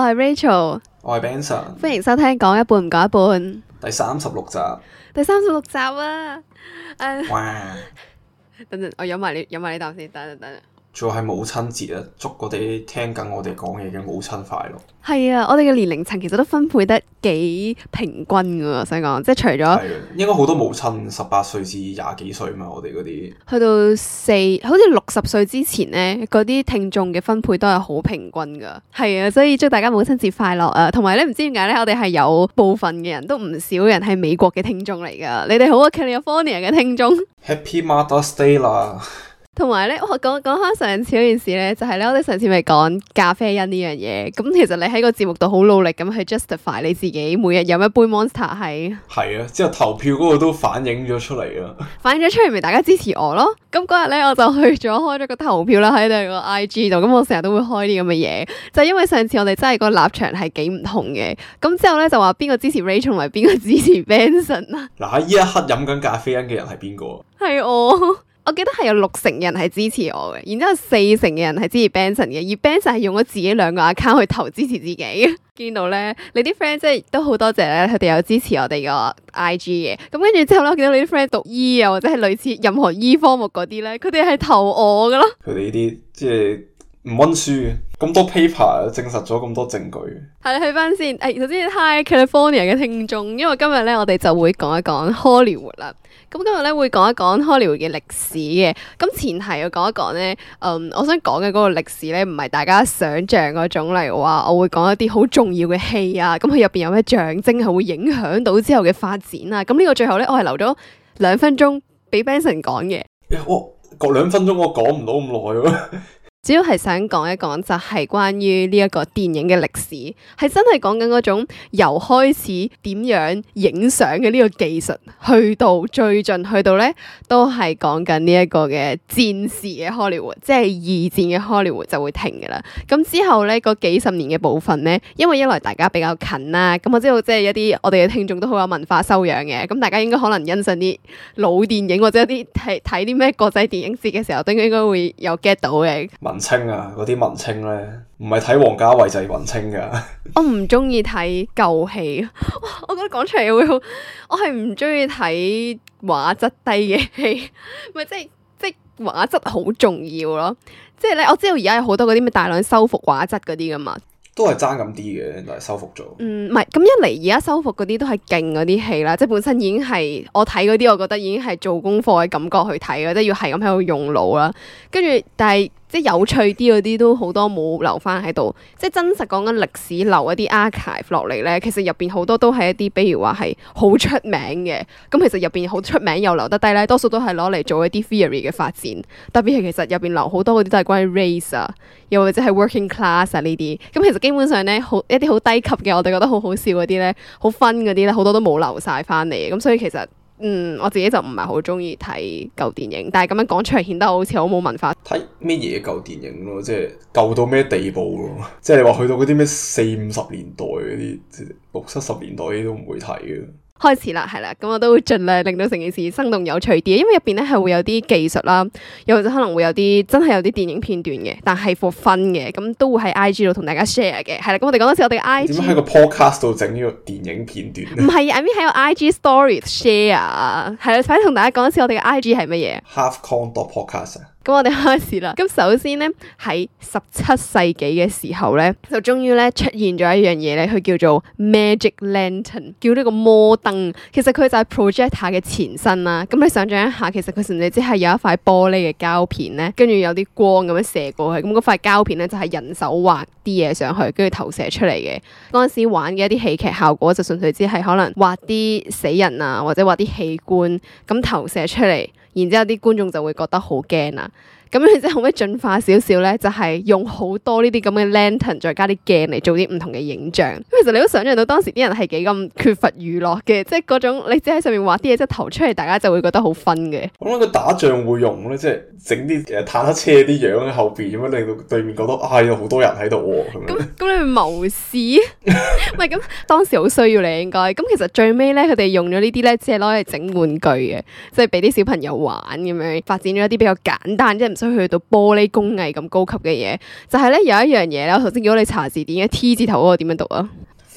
係 Rachel， 我係 Benson， 歡迎收聽講一半唔講一半第36集。 第36集啊！ 哇！ 等陣，我飲埋呢啖先，等陣。 仲係母親節啊！祝嗰啲聽緊我哋講嘢嘅母親快樂。 係啊，我哋嘅年齡層其實都分配得幾平均㗎，想講即係除咗係應該好多母親18歲至20幾歲嘛，我哋嗰啲去到好似60歲之前咧，嗰啲聽眾嘅分配都係好平均㗎。係啊，所以祝大家母親節快樂啊！同埋咧，唔知點解咧，我哋係有部分嘅人都唔少人係美國嘅聽眾嚟㗎。你哋好啊 California 嘅聽眾 Happy Mother's Day 啦！ 同埋咧，我講翻上次嗰件事咧，就係咧，我哋上次咪講咖啡因呢樣嘢。咁其實你喺個節目度好努力咁去 justify 你自己每日飲一杯 Monster 係啊，之後投票嗰個都反映咗出嚟啦。 反映咗出嚟，咪大家支持我咯。咁嗰日咧，我就開咗個投票啦，喺你個 IG 度。咁我成日都會開啲咁嘅嘢，就係因為上次我哋真係個立場係幾唔同嘅。咁之後咧就話邊個支持 Rachel 同埋邊個支持 Benson 啊？ 嗱，喺呢一刻飲緊咖啡因嘅人係邊個？ 係我記得係有60%嘅人係支持我嘅，然之後40%嘅人係支持 Benson 嘅，而 Benson 係用咗自己2個 account 去投支持自己。見到咧，你啲 friend 即係都好多謝咧，佢哋有支持我哋個 IG 嘅。咁跟住之後咧，我見到你啲 friend 讀醫啊，或者係類似任何醫科目嗰啲咧，佢哋係投我噶咯。 佢哋呢啲即係唔溫書嘅，咁多 paper 證實咗咁多證據。 係啦，去翻先。首先 Hi California 嘅聽眾，因為今日咧我哋就會講一講 Hollywood 啦。咁今日咧會講一講 Hollywood 嘅歷史嘅。咁前提要講一講咧，我想講嘅嗰個歷史咧，唔係大家想象嗰種，例如話我會講一啲好重要嘅戲啊，咁佢入邊有咩象徵係會影響到之後嘅發展啊。咁呢個最後咧，我係留咗2分鐘俾 Benson 講嘅。 我講2分鐘，我講唔到咁耐喎。 主要係想講一講就係關於呢一個電影嘅歷史，係真係講緊嗰種由開始點樣影相嘅呢個技術，去到最盡去到咧都係講緊呢一個嘅戰時嘅 Hollywood， 即係2戰嘅 Hollywood 就會停㗎啦。咁之後咧嗰幾十年嘅部分咧，因為一來大家比較近啦，咁我知道即係一啲我哋嘅聽眾都好有文化修養嘅，咁大家應該可能欣賞啲老電影或者一啲睇啲咩國際電影節嘅時候，都應該會有 get 到嘅。 文青啊，嗰啲文青咧，唔係睇王家衛就係文青噶。 我唔中意睇舊戲，我覺得講出嚟會好。我係唔中意睇畫質低嘅戲，咪即係畫質好重要咯。即係咧，我知道而家有好多嗰啲咩大量修復畫質嗰啲噶嘛。 都係爭咁啲嘅，但係修復咗。 唔係咁一嚟，而家修復嗰啲都係勁嗰啲戲啦，即係本身已經係我睇嗰啲，我覺得已經係做功課嘅感覺去睇嘅，即係要係咁喺度用腦啦。跟住，但係即係有趣啲嗰啲都好多冇留翻喺度，即係真實講緊歷史留一啲 archive 落嚟咧。其實入邊好多都係一啲，比如話係好出名嘅。咁其實入邊好出名又留得低咧，多數都係攞嚟做一啲 theory 嘅發展。特別係其實入邊留好多嗰啲都係關於 race 啊，又或者係 working class 啊呢啲。咁其實基本上咧，一啲好低級嘅，我哋覺得好好笑嗰啲咧，好 fun 嗰啲咧，好多都冇留晒翻嚟。咁所以其實我自己就唔係好中意睇舊電影，但係咁樣講出嚟顯得好似好冇文化。 睇咩嘢舊電影咯，即係舊到咩地步咯？即係你話去到嗰啲咩40-50年代嗰啲，60-70年代嗰啲都唔會睇嘅。 開始啦，係啦，咁我都會盡量令到成件事生動有趣啲，因為入邊咧係會有啲技術啦，又或者可能會有啲真係有啲電影片段嘅，但係 for fun 嘅，咁都會喺 IG 度同大家 share 嘅，係啦，咁我哋講多次我哋嘅 IG 點解喺個 podcast 度整呢個電影片段？ 唔係，I mean 喺個 IG stories share 啊，係啦，快啲同大家講一次我哋嘅 IG 係乜嘢 ？Halfkong.podcast 咁我哋開始啦。咁首先咧喺17世紀嘅時候咧，就終於咧出現咗一樣嘢咧，佢叫做 Magic Lantern， 叫呢個魔燈。其實佢就係 projector 嘅前身啦。咁你想象一下，其實佢甚至只係有一塊玻璃嘅膠片咧，跟住有啲光咁樣射過去。咁嗰塊膠片咧就係人手畫啲嘢上去，跟住投射出嚟嘅。嗰陣時玩嘅一啲戲劇效果就純粹只係可能畫啲死人啊，或者畫啲器官咁投射出嚟。然之後啲觀眾就會覺得好驚啦。咁你即係可唔可以進化少少咧？就係用好多呢啲咁嘅 lantern， 再加啲鏡嚟做啲唔同嘅影像。其實你都想象到當時啲人係幾咁缺乏娛樂嘅，即係嗰種你只喺上面畫啲嘢，即係投出嚟，大家就會覺得好 fun 嘅。 我諗佢打仗會用咧，即係整啲坦克車啲樣喺後邊咁樣，令到對面覺得有好多人喺度喎。咁你咪謀事？唔係咁當時好需要你應該。咁其實最尾咧，佢哋用咗呢啲咧，只係攞嚟整玩具嘅，即係俾啲小朋友玩咁樣，發展咗一啲比較簡單，即係唔所以去到玻璃工藝咁高級嘅嘢，就係咧有一樣嘢咧，我頭先叫你查字典嘅 T 字頭嗰個點樣讀啊？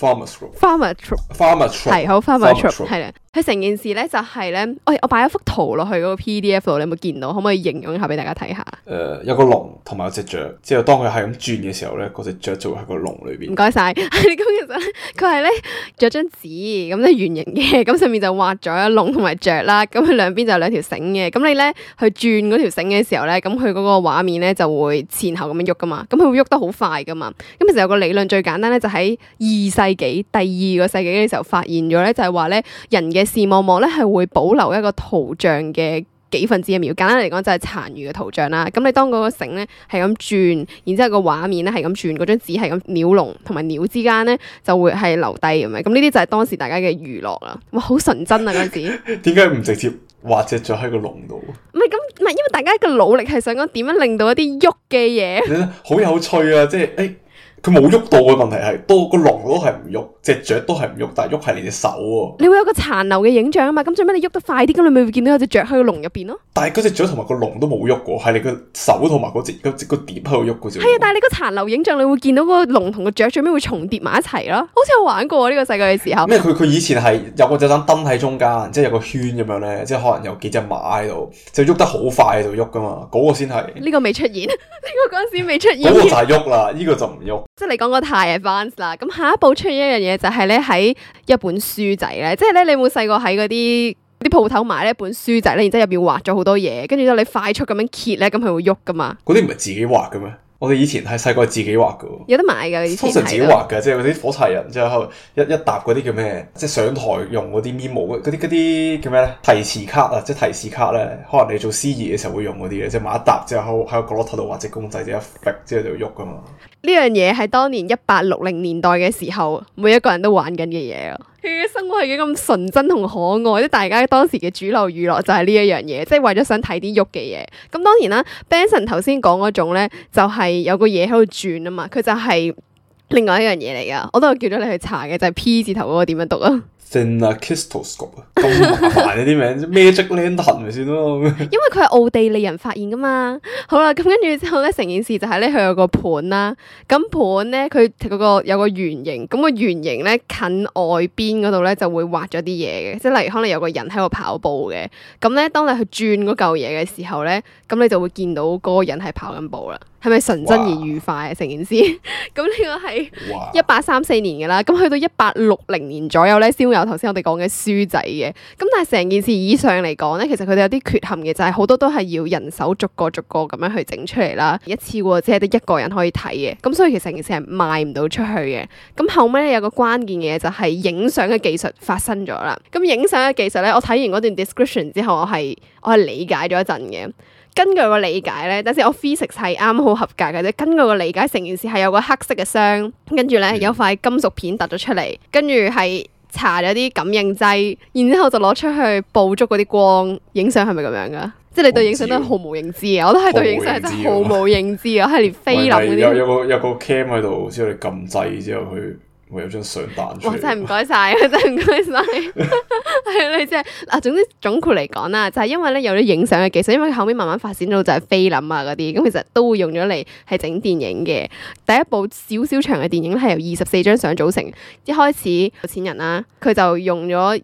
Pharmatrope 係好 Pharmatrope 係啦。佢成件事咧就係咧，我擺咗幅圖落去嗰個 PDF 度，你有冇見到？可唔可以形容一下俾大家睇下？ 有個龍同埋有隻雀，之後當佢係咁轉嘅時候咧，嗰隻雀就會喺個龍裏邊。唔該晒。咁其實咧，佢係咧著張紙咁咧圓形嘅，咁上面就畫咗龍同埋雀啦。咁佢兩邊就有兩條繩嘅。咁你咧去轉嗰條繩嘅時候咧，咁佢嗰個畫面咧就會前後咁樣喐噶嘛。咁佢會喐得好快噶嘛。咁其實有個理論最簡單咧，就喺2世紀第2個世紀嘅時候發現咗咧，就係話咧人嘅視網膜咧係會保留一個圖像嘅幾分之一秒，簡單嚟講就係殘餘嘅圖像啦。咁你當嗰個繩咧係咁轉，然之後個畫面咧係咁轉，嗰張紙係咁鳥龍同埋鳥之間咧就會係留低咁樣。咁呢啲就係當時大家嘅娛樂啦。哇，好純真啊嗰陣時。 點解唔直接畫隻雀喺個籠度？ 唔係，因為大家嘅努力係想講點樣令到一啲喐嘅嘢。 好有趣啊！即係佢冇喐到嘅問題係，多個龍都係唔喐，隻雀都係唔喐，但係喐係你隻手喎。你會有個殘留嘅影像啊嘛，咁最尾你喐得快啲，咁你咪會見到有隻雀喺個籠入邊咯。 但係嗰隻雀同埋個龍都冇喐過，係你個手同埋嗰個碟喺度喐嘅啫。 係啊，但係你個殘留影像，你會見到個龍同個雀最尾會重疊埋一齊咯，好似有玩過呢個世界嘅時候。 咩？佢以前係有個盞燈喺中間，即係有個圈咁樣咧，即係可能有幾隻馬喺度，就喐得好快喺度喐噶嘛，嗰個先係。呢個未出現，呢個嗰陣時未出現。 嗰個就係喐啦，呢個就唔喐。 即係你講個太 advanced 啦，咁下一步出現一樣嘢就係咧喺一本書仔咧，即係咧你有冇細個喺嗰啲鋪頭買呢一本書仔咧，然之後入邊畫咗好多嘢，跟住之後你快速咁樣揭咧，咁佢會喐噶嘛？ 嗰啲唔係自己畫嘅咩？我哋以前係細個自己畫嘅， 有得買㗎。以前通常自己畫嘅，即係嗰啲火柴人，之後一沓嗰啲叫咩？即係上台用嗰啲 memo 嗰啲叫咩咧？提示卡啊，即係提示卡咧，可能你做司儀嘅時候會用嗰啲嘅，即係買一沓之後喺個角落頭度畫隻公仔，之後一揈之後就喐噶嘛。呢樣嘢係當年1860年代嘅時候，每一個人都玩緊嘅嘢啊！佢嘅生活係幾咁純真同可愛，即大家當時嘅主流娛樂就係呢一樣嘢，即係為咗想睇啲喐嘅嘢。咁當然啦 Benson 頭先講嗰種咧，就係有個嘢喺度轉啊嘛，佢就係另外一樣嘢嚟噶。我都有叫咗你去查嘅，就係 P 字頭嗰個點樣讀啊？ Phenakistoscope 啊，咁麻煩呢啲名，Magic Lantern 咪算咯。因為佢係奧地利人發現噶嘛。好啦，咁跟住之後咧，成件事就係咧，佢有個盤啦。咁盤咧，佢嗰個有個圓形，咁個圓形咧近外邊嗰度咧就會畫咗啲嘢嘅，即係例如可能有個人喺度跑步嘅。咁咧，當你去轉嗰嚿嘢嘅時候咧，咁你就會見到嗰個人係跑緊步啦。係咪純真而愉快啊？成件事咁呢個係1834年嘅啦，咁去到1860年左右咧，先會有頭先我哋講嘅書仔嘅。咁但係成件事以上嚟講咧，其實佢哋有啲缺陷嘅，就係好多都係要人手逐個咁樣去整出嚟啦，一次過只係得一個人可以睇嘅。咁所以其實成件事係賣唔到出去嘅。咁後尾咧有個關鍵嘅嘢就係影相嘅技術發生咗啦。咁影相嘅技術咧，我睇完嗰段 description 之後，我係理解咗一陣嘅。根據個理解咧，等陣我 physics 係啱好合格嘅啫。根據個理解，成件事係有個黑色嘅箱，跟住咧有塊金屬片突咗出嚟，跟住係搽咗啲感應劑，然之後就攞出去捕捉嗰啲光。影相係咪咁樣噶？即係你對影相都係毫無認知啊！我都係對影相真係毫無認知啊！係連菲林嗰啲有個 cam 喺度，之後你撳掣之後佢會有張相彈出嚟。哇！ 真係唔該晒，真係唔該晒。係你即係嗱，總之總括嚟講啦，就係因為咧有咗影相嘅技術，因為後面慢慢發展到就係菲林啊嗰啲，咁其實都會用咗嚟係整電影嘅。第一部少少長嘅電影咧係由24張相組成。一開始有錢人啦，佢就用咗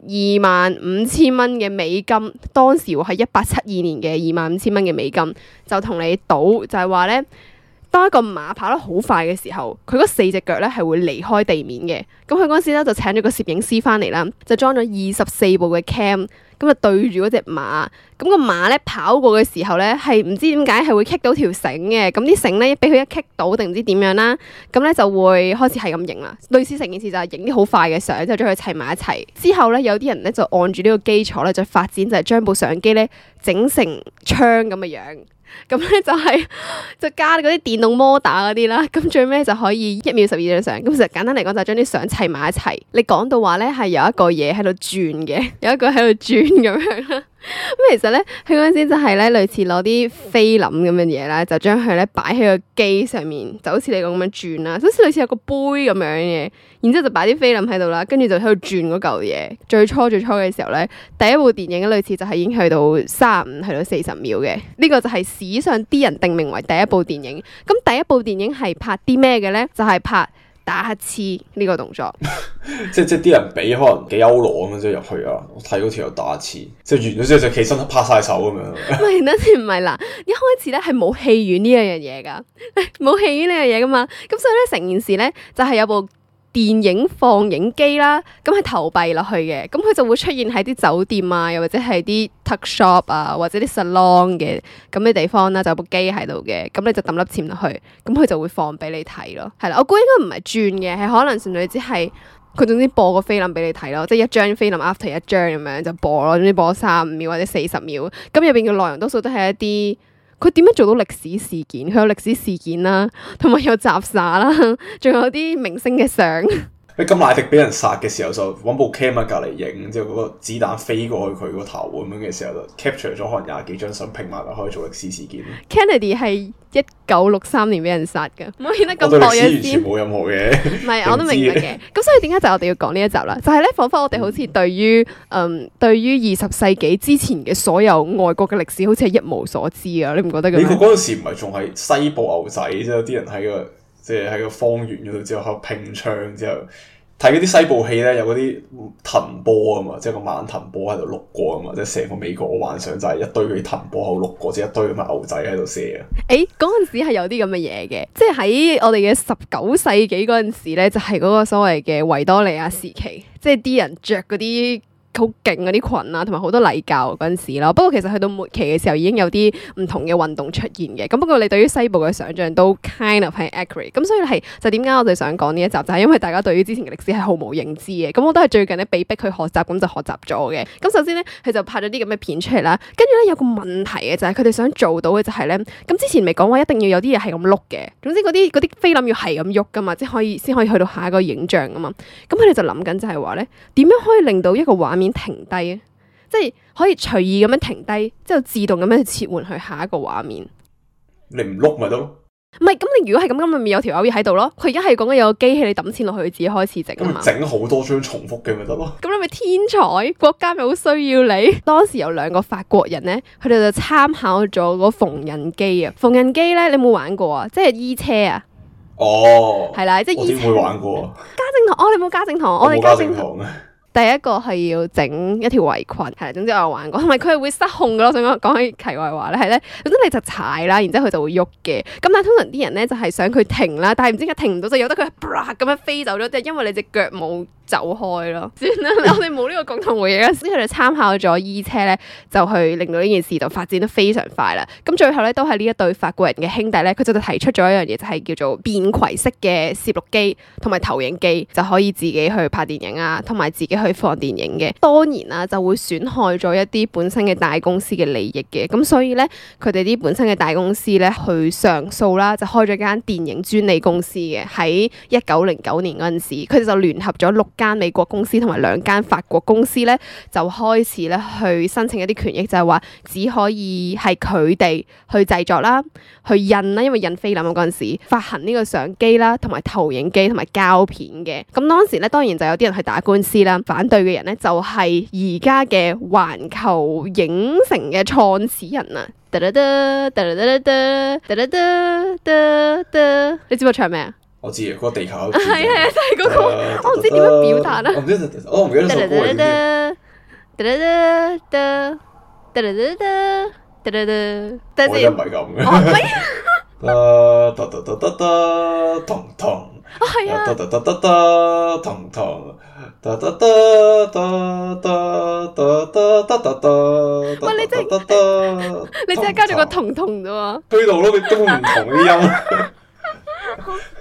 25,000蚊嘅美金，當時係1872年嘅25,000蚊嘅美金，就同你賭，就係話咧。當一個馬跑得好快嘅時候，佢嗰4隻腳咧係會離開地面嘅。咁佢嗰陣時咧就請咗個攝影師翻嚟啦，就裝咗24部嘅 cam，咁就對住嗰隻馬。咁個馬咧跑過嘅時候咧係唔知點解係會棘到條繩嘅。咁啲繩咧俾佢一棘到定唔知點樣啦，咁咧就會開始係咁影啦。類似成件事就係影啲好快嘅相，就將佢砌埋一齊。之後咧有啲人咧就按住呢個基礎咧就發展就係將部相機咧整成槍咁嘅樣。咁咧就加嗰啲電動摩打嗰啲啦，咁最尾就可以1秒12張相。咁其實簡單嚟講就係將啲相砌埋一齊。你講到話咧係有一個嘢喺度轉嘅，有一個喺度轉咁樣啦。 咁其實咧，佢嗰陣時就係咧類似攞啲菲林咁嘅嘢啦，就將佢咧擺喺個機上面，就好似你咁樣轉啦，好似類似有個杯咁樣嘅，然之後就擺啲菲林喺度啦，跟住就喺度轉嗰嚿嘢。最初嘅時候咧，第一部電影類似就係已經去到35去到40秒嘅，呢個就係史上啲人定名為第一部電影。咁第一部電影係拍啲咩嘅咧？就係拍打乞嗤呢個動作， 即係啲人俾可能幾歐羅咁樣即係入去啊！我睇嗰條友打乞嗤，即係完咗之後就企身拍晒手咁樣。 唔係，唔係啦，一開始咧係冇戲院呢樣嘢噶，冇戲院呢樣嘢噶嘛，咁所以咧成件事咧就係有部電影放映機啦，咁係投幣落去嘅，咁佢就會出現喺啲酒店啊，又或者係啲 tuck shop 啊，或者啲 salon 嘅咁嘅地方啦，就有部機喺度嘅，咁你就抌粒錢落去，咁佢就會放俾你睇咯。係啦，我估應該唔係轉嘅，係可能純粹只係佢總之播個菲林俾你睇咯，即係一張菲林 after 一張咁樣就播咯，總之播35秒或者40秒，咁入邊嘅內容多數都係一啲。佢點樣做到歷史事件？佢有歷史事件啦，同埋有雜耍啦，仲有啲明星嘅相。 金乃迪俾人殺嘅時候就揾部 cam 喺隔離影，之後嗰個子彈飛過去佢個頭咁樣嘅時候就 capture 咗可能20幾張相拼埋落可以做歷史事件。 Kennedy 係1963年俾人殺㗎，唔好顯得咁薄弱先。 完全冇任何嘅。唔係，我都明白嘅。咁所以點解就我哋要講呢一集啦？就係咧，彷彿我哋好似對於20世紀之前嘅所有外國嘅歷史，好似係一無所知啊！你唔覺得咁？美國嗰陣時唔係仲係西部牛仔，即係有啲人喺個方圓嗰度之後喺度拼槍之後。睇嗰啲西部戲咧，有嗰啲藤波啊嘛，即係個慢藤波喺度碌過啊嘛，即係成個美國我幻想就係一堆嗰啲藤波喺度碌過，即係一堆咁嘅牛仔喺度射啊！ 嗰陣時係有啲咁嘅嘢嘅，即係喺我哋嘅19世紀嗰陣時咧，就係嗰個所謂嘅維多利亞時期，即係啲人着嗰啲好勁嗰啲裙啊，同埋好多禮教嗰陣時咯。不過其實去到末期嘅時候，已經有啲唔同嘅運動出現嘅。咁不過你對於西部嘅想像都 kind of 係 accurate。咁所以係就點解我哋想講呢一集，就係因為大家對於之前嘅歷史係毫無認知嘅。咁我都係最近咧被逼去學習，咁就學習咗嘅。咁首先咧，佢就拍咗啲咁嘅片出嚟啦。跟住咧有個問題嘅就係佢哋想做到嘅就係咧，咁之前咪講話一定要有啲嘢係咁碌嘅。總之嗰啲菲林要係咁喐噶嘛，即係先可以去到下一個影像啊嘛。咁佢哋就諗緊就係話咧，點樣可以令到一個畫面停低啊，即係可以隨意咁樣停低，之後自動咁樣去切換去下一個畫面。 你唔碌咪得咯？唔係，咁你如果係咁，咪有條友喺度咯。佢而家係講緊有個機器，你抌錢落去，佢自己開始整啊嘛。 整好多張重複嘅咪得咯。咁你咪天才，國家咪好需要你。當時有2個法國人咧，佢哋就參考咗嗰縫紉機啊。縫紉機咧，你有冇玩過啊？即係衣車啊。 哦。 係啦，即係衣車。 我點會玩過啊？ 家政堂，你冇家政堂，我哋家政堂啊。 第一個係要整一條圍裙，係，總之我有玩過，同埋佢係會失控噶咯。想講起題外話咧，係咧，總之你就踩啦，然之後佢就會喐嘅。咁但係通常啲人咧就係想佢停啦，但係唔知點解停唔到，就由得佢咁樣飛走咗，即係因為你隻腳冇走開咯。算啦，我哋冇呢個共同回憶啦。所以佢哋參考咗衣車咧，就去令到呢件事就發展得非常快啦。咁最後咧都係呢一對法國人嘅兄弟咧，佢就提出咗一樣嘢，就係叫做便攜式嘅攝錄機同埋投影機，就可以自己去拍電影啊，同埋自己去放電影嘅。當然啦，就會損害咗一啲本身嘅大公司嘅利益嘅。咁所以咧，佢哋啲本身嘅大公司咧去上訴啦，就開咗間電影專利公司嘅。喺1909年嗰陣時，佢哋就聯合咗6間美國公司同埋2間法國公司咧，就開始咧去申請一啲權益，就係話只可以係佢哋去製作啦、去印啦，因為印菲林嗰陣時發行呢個相機啦、同埋投影機同埋膠片嘅。咁當時咧，當然就有啲人去打官司啦。反對嘅人咧就係而家嘅環球影城嘅創始人啊！你知唔知唱咩啊？ 我知啊，嗰個地球係啊，就係嗰個，我唔知點樣表達啊！ 我唔記得首歌係點。我又唔係咁嘅。彤彤。 啊，係啊！ 彤彤。 喂，你真係加咗個彤彤啫喎！ 推到咯，佢根本唔同啲音。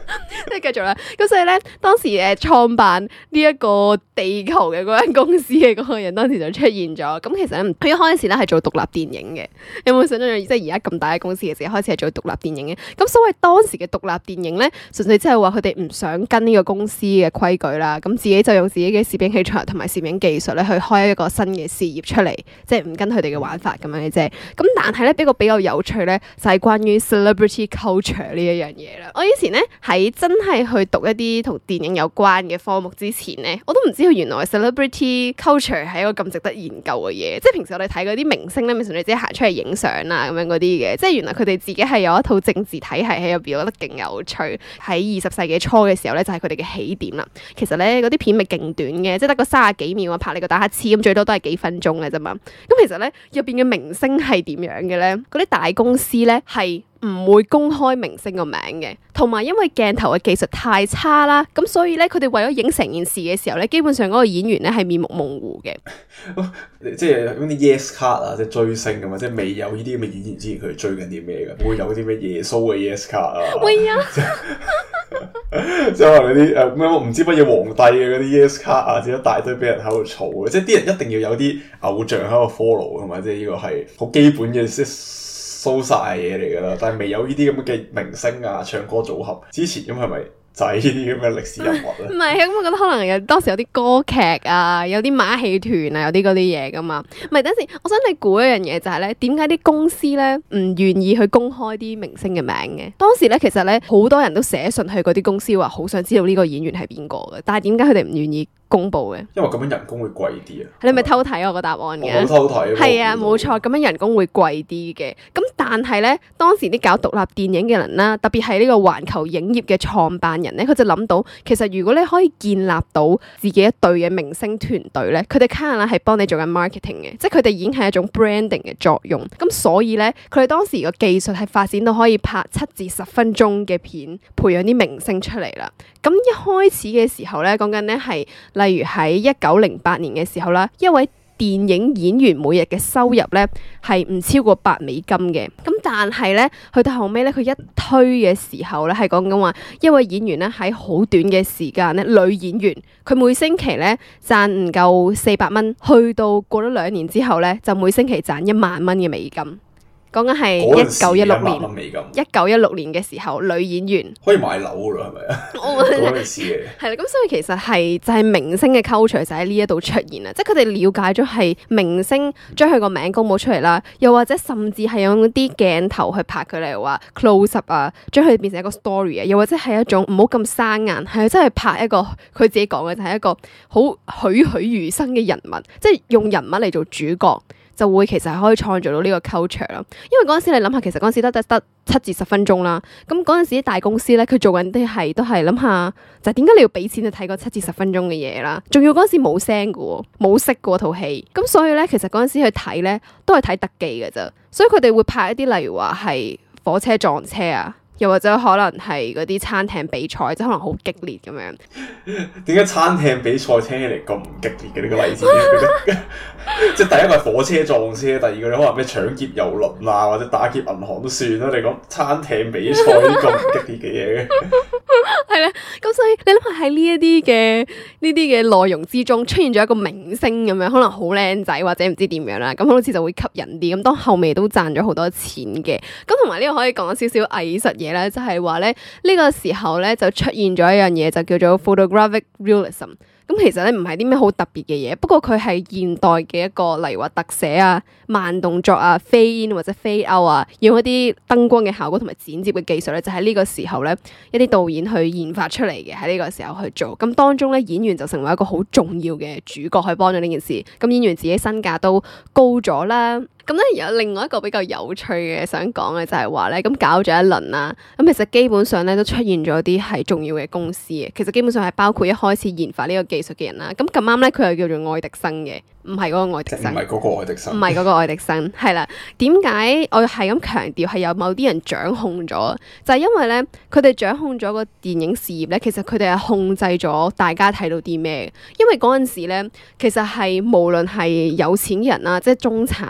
即係繼續啦。咁所以咧，當時創辦呢一個地球嘅嗰間公司嘅嗰個人，當時就出現咗。咁其實咧，佢一開始咧係做獨立電影嘅。有冇想象即係而家咁大嘅公司嘅時候，開始係做獨立電影嘅？咁所謂當時嘅獨立電影咧，純粹即係話佢哋唔想跟呢個公司嘅規矩啦，咁自己就用自己嘅攝影器材同埋攝影技術咧去開一個新嘅事業出嚟，即係唔跟佢哋嘅玩法咁樣嘅啫。咁但係咧，比較有趣咧，就係關於 celebrity culture 呢一樣嘢啦。我以前咧喺真係去讀一啲同電影有關嘅科目之前咧，我都唔知道原來 celebrity culture 係一個咁值得研究嘅嘢。即係平時我哋睇嗰啲明星咧，咪純粹自己行出嚟影相啊咁樣嗰啲嘅。即係原來佢哋自己係有一套政治體系喺入邊，我覺得勁有趣。喺20世紀初嘅時候咧，就係佢哋嘅起點啦。其實咧，嗰啲片咪勁短嘅，即係得個30幾秒啊，拍你個打乞嗤咁，最多都係幾分鐘嘅啫嘛。咁其實咧，入邊嘅明星係點樣嘅咧？嗰啲大公司咧係唔會公開明星個名嘅，同埋因為鏡頭嘅技術太差啦，咁所以咧佢哋為咗影成件事嘅時候咧，基本上嗰個演員咧係面目模糊嘅。 即係嗰啲 yes card 啊，即係追星咁啊，即係未有呢啲咁嘅演員之前，佢哋追緊啲咩㗎？會有啲咩耶穌嘅 yes card 啊？會啊！即係話嗰啲咩唔知乜嘢皇帝嘅嗰啲 yes card 啊，即係一大堆俾人喺度嘈嘅，即係啲人一定要有啲偶像喺度 follow 㗎嘛，即係呢個係好基本嘅即蘇晒嘢嚟㗎啦，但係未有呢啲咁嘅明星啊、唱歌組合之前，咁係咪就係呢啲咁嘅歷史人物咧？唔係，咁我覺得可能有當時有啲歌劇啊，有啲馬戲團啊，有啲嗰啲嘢㗎嘛。唔係，等陣，我想你估一樣嘢就係咧，點解啲公司咧唔願意去公開啲明星嘅名嘅？當時咧其實咧好多人都寫信去嗰啲公司話好想知道呢個演員係邊個嘅，但係點解佢哋唔願意公佈嘅？因為咁樣人工會貴啲啊！你咪偷睇我個答案嘅？我偷睇。係啊，冇錯，咁樣人工會貴啲嘅。咁但係咧，當時啲搞獨立電影嘅人啦，特別係呢個環球影業嘅創辦人咧，佢就諗到，其實如果你可以建立到自己一隊嘅明星團隊咧，佢哋 kind of 係幫你做緊 marketing 嘅，即係佢哋已經係一種 branding 嘅作用。咁所以咧，佢哋當時個技術係發展到可以拍7至10分鐘嘅片，培養啲明星出嚟啦。咁一開始嘅時候咧，講緊咧係例如喺1908年嘅時候啦，一位電影演員每日嘅收入咧係唔超過$8嘅。咁但係咧，去到後尾咧，佢一推嘅時候咧，係講緊話一位演員咧喺好短嘅時間咧，女演員佢每星期咧賺唔夠$400，去到過咗2年之後咧，就每星期賺$10,000嘅美金。講緊係1916年，1916年嘅時候，女演員可以買樓㗎啦，係咪啊？嗰陣時嘅係啦，咁所以其實係就係明星嘅 culture 就喺呢一度出現啦，即係佢哋了解咗係明星將佢個名公佈出嚟啦，又或者甚至係用啲鏡頭去拍佢嚟話 close up 啊，將佢變成一個 story 啊，又或者係一種唔好咁生硬，係真係拍一個佢自己講嘅就係一個好栩栩如生嘅人物，即係用人物嚟做主角。就會其實係可以創造到呢個 culture 咯，因為嗰陣時你諗下，其實嗰陣時得7至10分鐘啦。咁嗰陣時啲大公司咧，佢做緊啲都係諗下，就係點解你要俾錢去睇個7至10分鐘嘅嘢啦？仲要嗰陣時冇聲嘅喎，冇色嘅套戲。咁所以咧，其實嗰陣時去睇咧，都係睇特技嘅啫。所以佢哋會拍一啲例如話係火車撞車啊。又或者可能係嗰啲餐廳比賽，即係可能好激烈咁樣。點解餐廳比賽聽起嚟咁唔激烈嘅呢個例子？即係第一個係火車撞車，第二個你可能咩搶劫郵輪啊，或者打劫銀行都算啦。你講餐廳比賽呢個唔激烈嘅嘢嘅，係啦。咁所以你諗下喺呢啲嘅內容之中出現咗一個明星咁樣，可能好靚仔或者唔知點樣啦，咁好似就會吸引啲。咁當後尾都賺咗好多錢嘅。咁同埋呢個可以講少少藝術嘢。就係話咧，呢個時候咧就出現咗一樣嘢，就叫做 photographic realism。咁其實咧唔係啲咩好特別嘅嘢，不過佢係現代嘅一個，例如話特寫啊、慢動作啊、fade in 或者 fade out 啊，用一啲燈光嘅效果同埋剪接嘅技術咧，就喺呢個時候咧，一啲導演去研發出嚟嘅，喺呢個時候去做。咁當中咧，演員就成為一個好重要嘅主角，去幫咗呢件事。咁演員自己身價都高咗啦。咁咧有另外一個比較有趣嘅想講嘅就係話咧，咁搞咗一輪啦，咁其實基本上咧都出現咗啲係重要嘅公司嘅，其實基本上係包括一開始研發呢個技術嘅人啦。咁咁啱咧，佢又叫做愛迪生嘅，唔係嗰個愛迪生，唔係嗰個愛迪生，唔係嗰個愛迪生，係啦。點解我係咁強調係有某啲人掌控咗？就係因為咧，佢哋掌控咗個電影事業咧，其實佢哋係控制咗大家睇到啲咩。因為嗰陣時咧，其實係無論係有錢人啊，即係中產啊，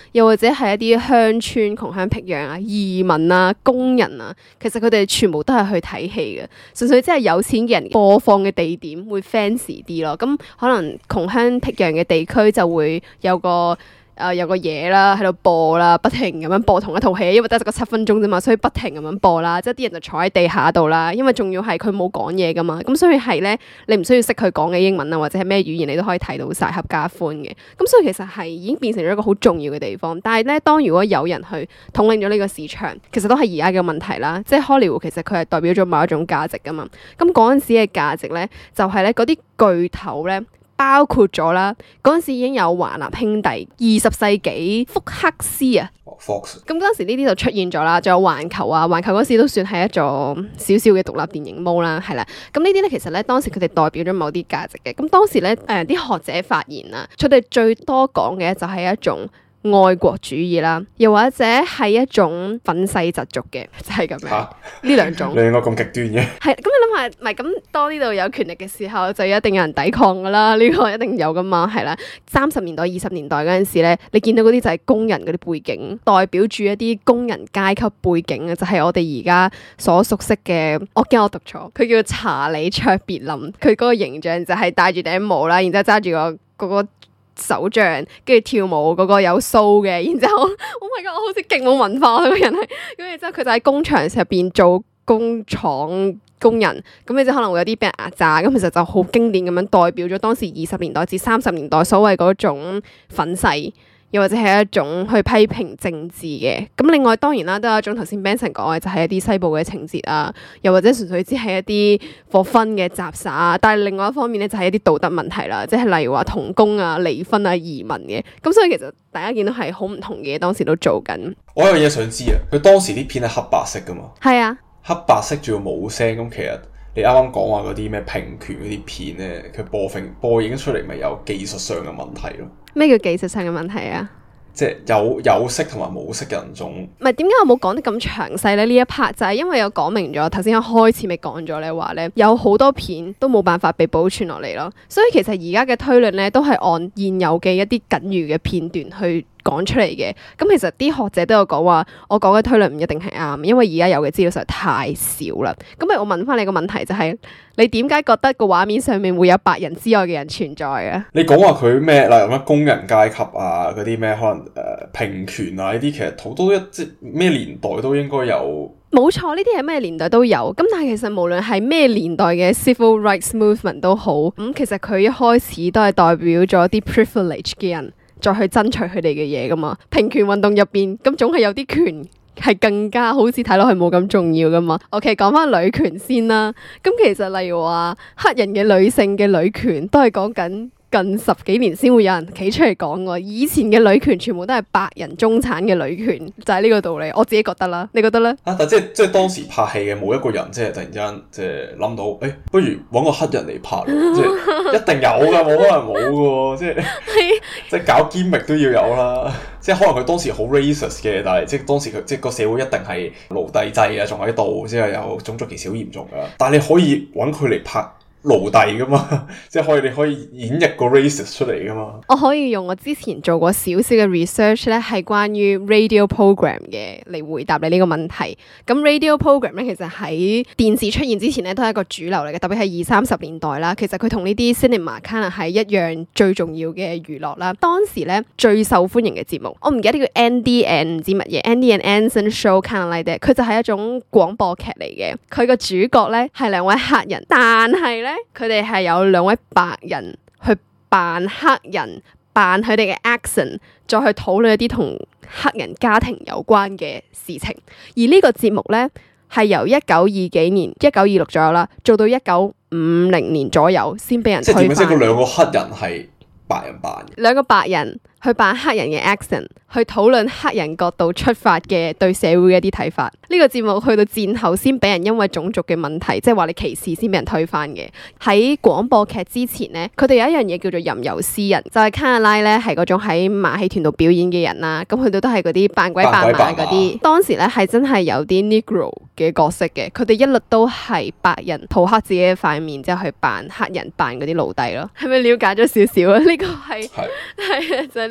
又或者係一啲鄉村窮鄉僻壤啊、移民啊、工人啊，其實佢哋全部都係去睇戲嘅，純粹即係有錢嘅人播放嘅地點會 fancy 啲咯。咁可能窮鄉僻壤嘅地區就會有個嘢啦，喺度播啦，不停咁樣播同一套戲，因為得個7分鐘啫嘛，所以不停咁樣播啦。即係啲人就坐喺地下度啦，因為仲要係佢冇講嘢噶嘛，咁所以係咧，你唔需要識佢講嘅英文啊，或者係咩語言，你都可以睇到晒合家歡嘅。咁所以其實係已經變成咗一個好重要嘅地方。但係咧，當如果有人去統領咗呢個市場，其實都係而家嘅問題啦。即係荷里活其實佢係代表咗某一種價值噶嘛。咁嗰陣時嘅價值咧，就係咧嗰啲巨頭咧。包括咗啦，嗰陣時已經有華納兄弟、20世紀福克斯啊 Fox。 咁嗰陣時呢啲就出現咗啦，仲有環球啊，環球嗰時都算係一座少少嘅獨立電影毛啦，係啦。咁呢啲咧其實咧當時佢哋代表咗某啲價值嘅。咁當時咧啲學者發言啊，佢哋最多講嘅就係一種愛國主義啦，又或者係一種憤世嫉俗嘅，就係咁樣。呢兩種， 你應該咁極端嘅。 係咁，你諗下，唔係咁當呢度有權力嘅時候，就一定有人抵抗噶啦。呢個一定有噶嘛，係啦。30年代、20年代嗰陣時咧，你見到嗰啲就係工人嗰啲背景，代表住一啲工人階級背景嘅，就係我哋而家所熟悉嘅。我驚我讀錯，佢叫查理卓別林，佢嗰個形象就係戴住頂帽啦，然之後揸住個手杖，跟住跳舞嗰個有鬚嘅，然之後 Oh my god，我好似勁冇文化嗰個人係，咁然之後佢就喺工場入邊做工廠工人，咁你就可能會有啲俾人壓榨，咁其實就好經典咁樣代表咗當時20年代至30年代所謂嗰種憤世，又或者係一種去批評政治嘅。咁另外當然啦，都有一種頭先 Benson 講嘅，就係一啲西部嘅情節啊，又或者純粹只係一啲for fun嘅雜耍啊。但係另外一方面咧，就係一啲道德問題啦，即係例如話童工啊、離婚啊、移民嘅。咁所以其實大家見到係好唔同嘅嘢，當時都做緊。 我有嘢想知啊，佢當時啲片係黑白色噶嘛？ 係啊， 黑白色仲要冇聲。咁其實你啱啱講話嗰啲咩平權嗰啲片咧，佢播映出嚟咪有技術上嘅問題咯？咩叫技術上嘅問題啊？ 即係有色同埋冇色人種。 唔係，點解我冇講得咁詳細咧？呢一 part 就係因為有講明咗，頭先一開始咪講咗咧，話咧有好多片都冇辦法被保存落嚟咯。所以其實而家嘅推論咧，都係按現有嘅一啲僅餘嘅片段去講出嚟嘅。咁其實啲學者都有講話，我講嘅推論唔一定係啱，因為而家有嘅資料實在太少啦。咁咪我問翻你個問題就係，你點解覺得個畫面上面會有白人之外嘅人存在啊？ 你講話佢咩，例如乜工人階級啊，嗰啲咩可能平權啊呢啲，其實好多即咩年代都應該有。冇錯， 呢啲係咩年代都有。咁但係其實無論係咩年代嘅 civil rights movement 都好，咁其實佢一開始都係代表咗啲 privilege 嘅人再去爭取佢哋嘅嘢噶嘛。平權運動入邊，咁總係有啲權係更加好似睇落去冇咁重要噶嘛。OK， 講翻女權先啦。咁其實例如話黑人嘅女性嘅女權都係講緊近10幾年先會有人企出嚟講喎，以前嘅女權全部都係白人中產嘅女權，就係呢個道理。我自己覺得啦，你覺得咧？但即係當時拍戲嘅冇一個人即係突然之間即係諗到，不如揾個黑人嚟拍，即係一定有噶，冇可能冇噶，即係即係搞 gimmick 都要有啦。即係可能佢當時好 racist 嘅，但係即係當時佢即係個社會一定係奴隸制啊，仲喺度，即係有種族歧視好嚴重噶。但係你可以揾佢嚟拍奴隸噶嘛，即係你可以演繹個 racist 出嚟噶嘛。我可以用我之前做過少少嘅 research 咧，係關於 radio program 嘅嚟回答你呢個問題。咁 radio program 咧，其實喺電視出現之前咧，都係一個主流嚟嘅，特別係20-30年代啦。其實佢同呢啲 cinema canon 係一樣最重要嘅娛樂啦。當時咧最受歡迎嘅節目，我唔記得叫 Andy and 唔知乜嘢 Andy and Anson Show kind of like that，佢就係一種廣播劇嚟嘅。佢個主角咧係2位黑人，但係咧佢哋係有2位白人去扮黑人，扮佢哋嘅 accent， 再去討論一啲同黑人家庭有關嘅事情。而呢個節目咧係由1920幾年、1926左右啦，做到1950年左右先俾人推翻。即係嗰2個黑人係白人扮嘅，2個白人去扮黑人嘅 accent， 去討論黑人角度出發嘅對社會嘅一啲睇法。呢個節目去到戰後先俾人因為種族嘅問題，即係話你歧視先俾人推翻嘅。喺廣播劇之前咧，佢哋有一樣嘢叫做吟遊詩人，就係卡納拉咧係嗰種喺馬戲團度表演嘅人啦。咁佢哋都係嗰啲扮鬼扮馬嗰啲。當時咧係真係有啲 Negro 嘅角色嘅，佢哋一律都係白人塗黑自己嘅塊面之後去扮黑人，扮嗰啲奴隸咯。係咪了解咗少少啊？呢個係就係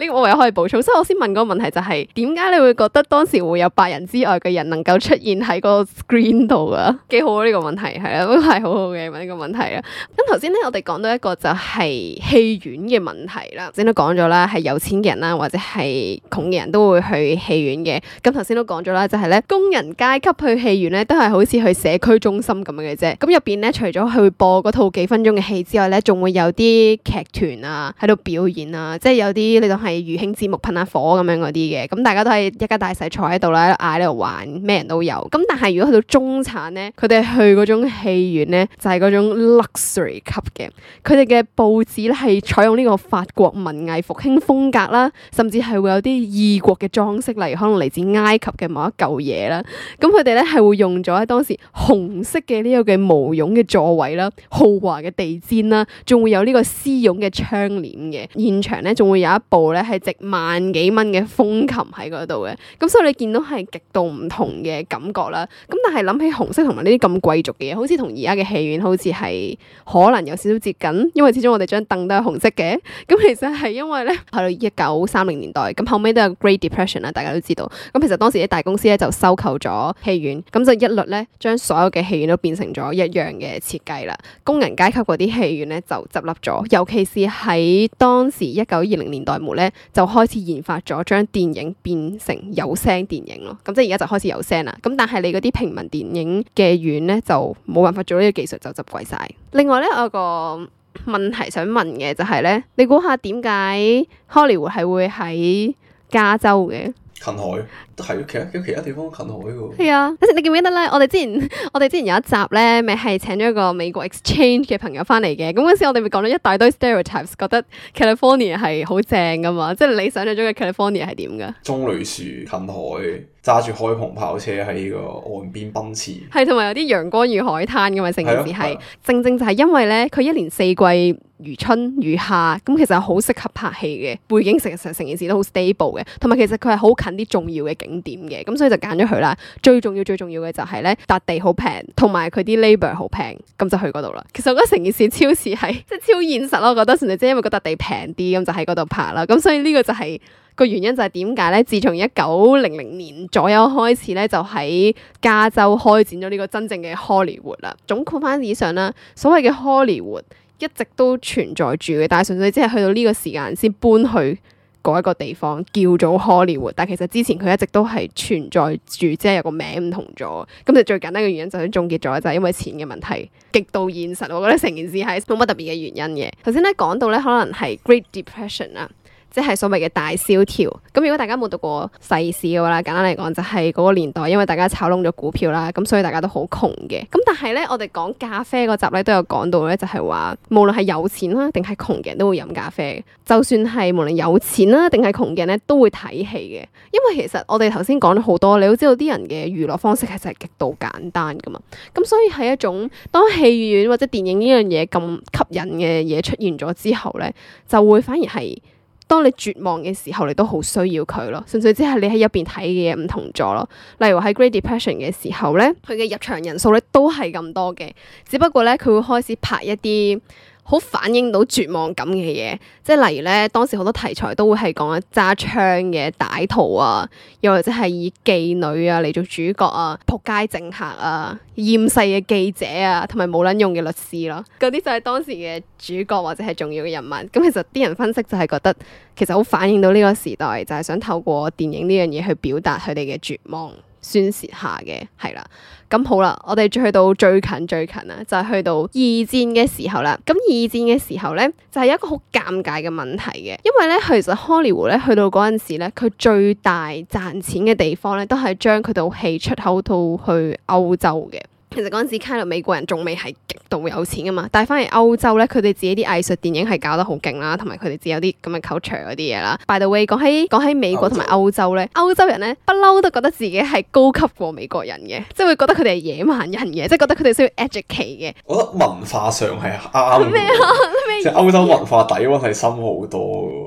呢個我又可以補充，所以我先問嗰個問題就係點解你會覺得當時會有白人之外嘅人能夠出現喺個 screen 度啊？幾好啊呢個問題，係啦，都係好好嘅問呢個問題啦。咁頭先咧我哋講到一個就係戲院嘅問題啦，先都講咗啦，係有錢嘅人啦或者係窮嘅人都會去戲院嘅。咁頭先都講咗啦，就係咧工人階級去戲院咧都係好似去社區中心咁樣嘅啫。咁入邊咧除咗去播嗰套幾分鐘嘅戲之外咧，仲會有啲劇團啊喺度表演啊，即係有啲你當係餘興節目噴下火咁樣嗰啲嘅。咁大家都係一家大細坐喺度啦，嗌喺度玩，咩人都有。咁但係如果去到中產咧，佢哋去嗰種戲院咧就係嗰種 luxury 級嘅。佢哋嘅佈置咧係採用呢個法國文藝復興風格啦，甚至係會有啲異國嘅裝飾，例如可能嚟自埃及嘅某一嚿嘢啦。咁佢哋咧係會用咗喺當時紅色嘅呢個嘅毛絨嘅座位啦，豪華嘅地氈啦，仲會有呢個絲絨嘅窗簾嘅。現場咧仲會有一部咧係值萬幾蚊嘅風琴喺嗰度嘅。咁所以你見到係極度唔同嘅感覺啦。咁但係諗起紅色同埋呢啲咁貴族嘅嘢，好似同而家嘅戲院好似係可能有少少接近，因為始終我哋張凳都係紅色嘅。咁其實係因為咧去到1930年代，咁後尾都有 Great Depression 啦，大家都知道。咁其實當時啲大公司咧就收購咗戲院，咁就一律咧將所有嘅戲院都變成咗一樣嘅設計啦。工人階級嗰啲戲院咧就執笠咗，尤其是喺當時1920年代末咧就開始研發咗將電影變成有聲電影咯。咁即係而家就開始有聲啦。咁但係你嗰啲平民電影嘅院咧就冇辦法做呢個技術，就執貴晒。另外咧我有個問題想問嘅就係咧，你估下點解 Hollywood 係會喺加州嘅？ 近海都係，其他地方近海嘅。 係啊，你記唔記得咧？我哋之前有一集咧，咪係請咗一個美國 exchange 嘅朋友翻嚟嘅。咁嗰時我哋咪講咗一大堆 stereotypes，覺得 California 係好正噶嘛，即係你想象中嘅 California 係點噶？棕櫚樹近海，揸住開篷跑車喺個岸邊奔馳，係同埋有啲陽光與海灘噶嘛。成件事係正正就係因為咧，佢一年四季如春如夏，咁其實好適合拍戲嘅背景，成件事都好 stable 嘅，同埋其實佢係好近啲重要嘅景點嘅，咁所以就揀咗佢啦。最重要嘅就係咧，笪地好平，同埋佢啲 labor 好平，咁就去嗰度啦。其實我覺得成件事超似係即係超現實咯，我覺得純粹即係因為嗰笪地平啲，咁就喺嗰度拍啦。咁所以呢個就係個原因，就係點解咧？自從1900年左右開始咧，就喺加州開展咗呢個真正嘅 Hollywood 啦。總括翻以上啦，所謂嘅 Hollywood 一直都存在住嘅，但係純粹只係去到呢個時間先搬去嗰一個地方叫做 Hollywood， 但其實之前佢一直都係存在住，即係有個名唔同咗。咁就最簡單嘅原因就係總結咗，就係因為錢嘅問題，極度現實。我覺得成件事係冇乜特別嘅原因嘅。頭先咧講到咧，可能係 Great Depression 啦。即係所謂嘅大蕭條。咁如果大家冇讀過世史嘅話啦，簡單嚟講就係嗰個年代，因為大家炒窿咗股票啦，咁所以大家都好窮嘅。咁但係咧，我哋講咖啡嗰集咧都有講到咧，就係話無論係有錢啦定係窮嘅人都會飲咖啡。就算係無論有錢啦定係窮嘅人咧都會睇戲嘅。因為其實我哋頭先講咗好多，你都知道啲人嘅娛樂方式其實係極度簡單噶嘛。咁所以係一種當戲院或者電影呢樣嘢咁吸引嘅嘢出現咗之後咧，就會反而係當你絕望嘅時候，你都好需要佢咯。純粹只係你喺入邊睇嘅嘢唔同咗咯。例如話喺 Great Depression 嘅時候咧，佢嘅入場人數咧都係咁多嘅，只不過咧佢會開始拍一啲好反映到絕望感嘅嘢，即係例如咧，當時好多題材都會係講揸槍嘅歹徒啊，又或者係以妓女啊嚟做主角啊，仆街政客啊，厭世嘅記者啊，同埋冇撚用嘅律師咯，嗰啲就係當時嘅主角或者係重要嘅人物。咁其實啲人分析就係覺得，其實好反映到呢個時代，就係想透過電影呢樣嘢去表達佢哋嘅絕望。宣泄下嘅係啦，咁好啦，我哋去到最近啦，就係去到二戰嘅時候啦。咁二戰嘅時候咧，就係一個好尷尬嘅問題嘅，因為咧其實 Hollywood 咧去到嗰陣時咧，佢最大賺錢嘅地方咧，都係將佢套戲出口到去歐洲嘅。其實嗰陣時，卡到美國人仲未係極度有錢噶嘛，但係翻嚟歐洲咧，佢哋自己啲藝術電影係搞得好勁啦，同埋佢哋自己有啲咁嘅 culture 嗰啲嘢啦。By the way，講起美國同埋歐洲咧，歐洲人咧不嬲都覺得自己係高級過美國人嘅，即係會覺得佢哋係野蠻人嘅，即係覺得佢哋需要 educate 嘅。我覺得文化上係啱嘅，即係歐洲文化底蘊係深好多嘅。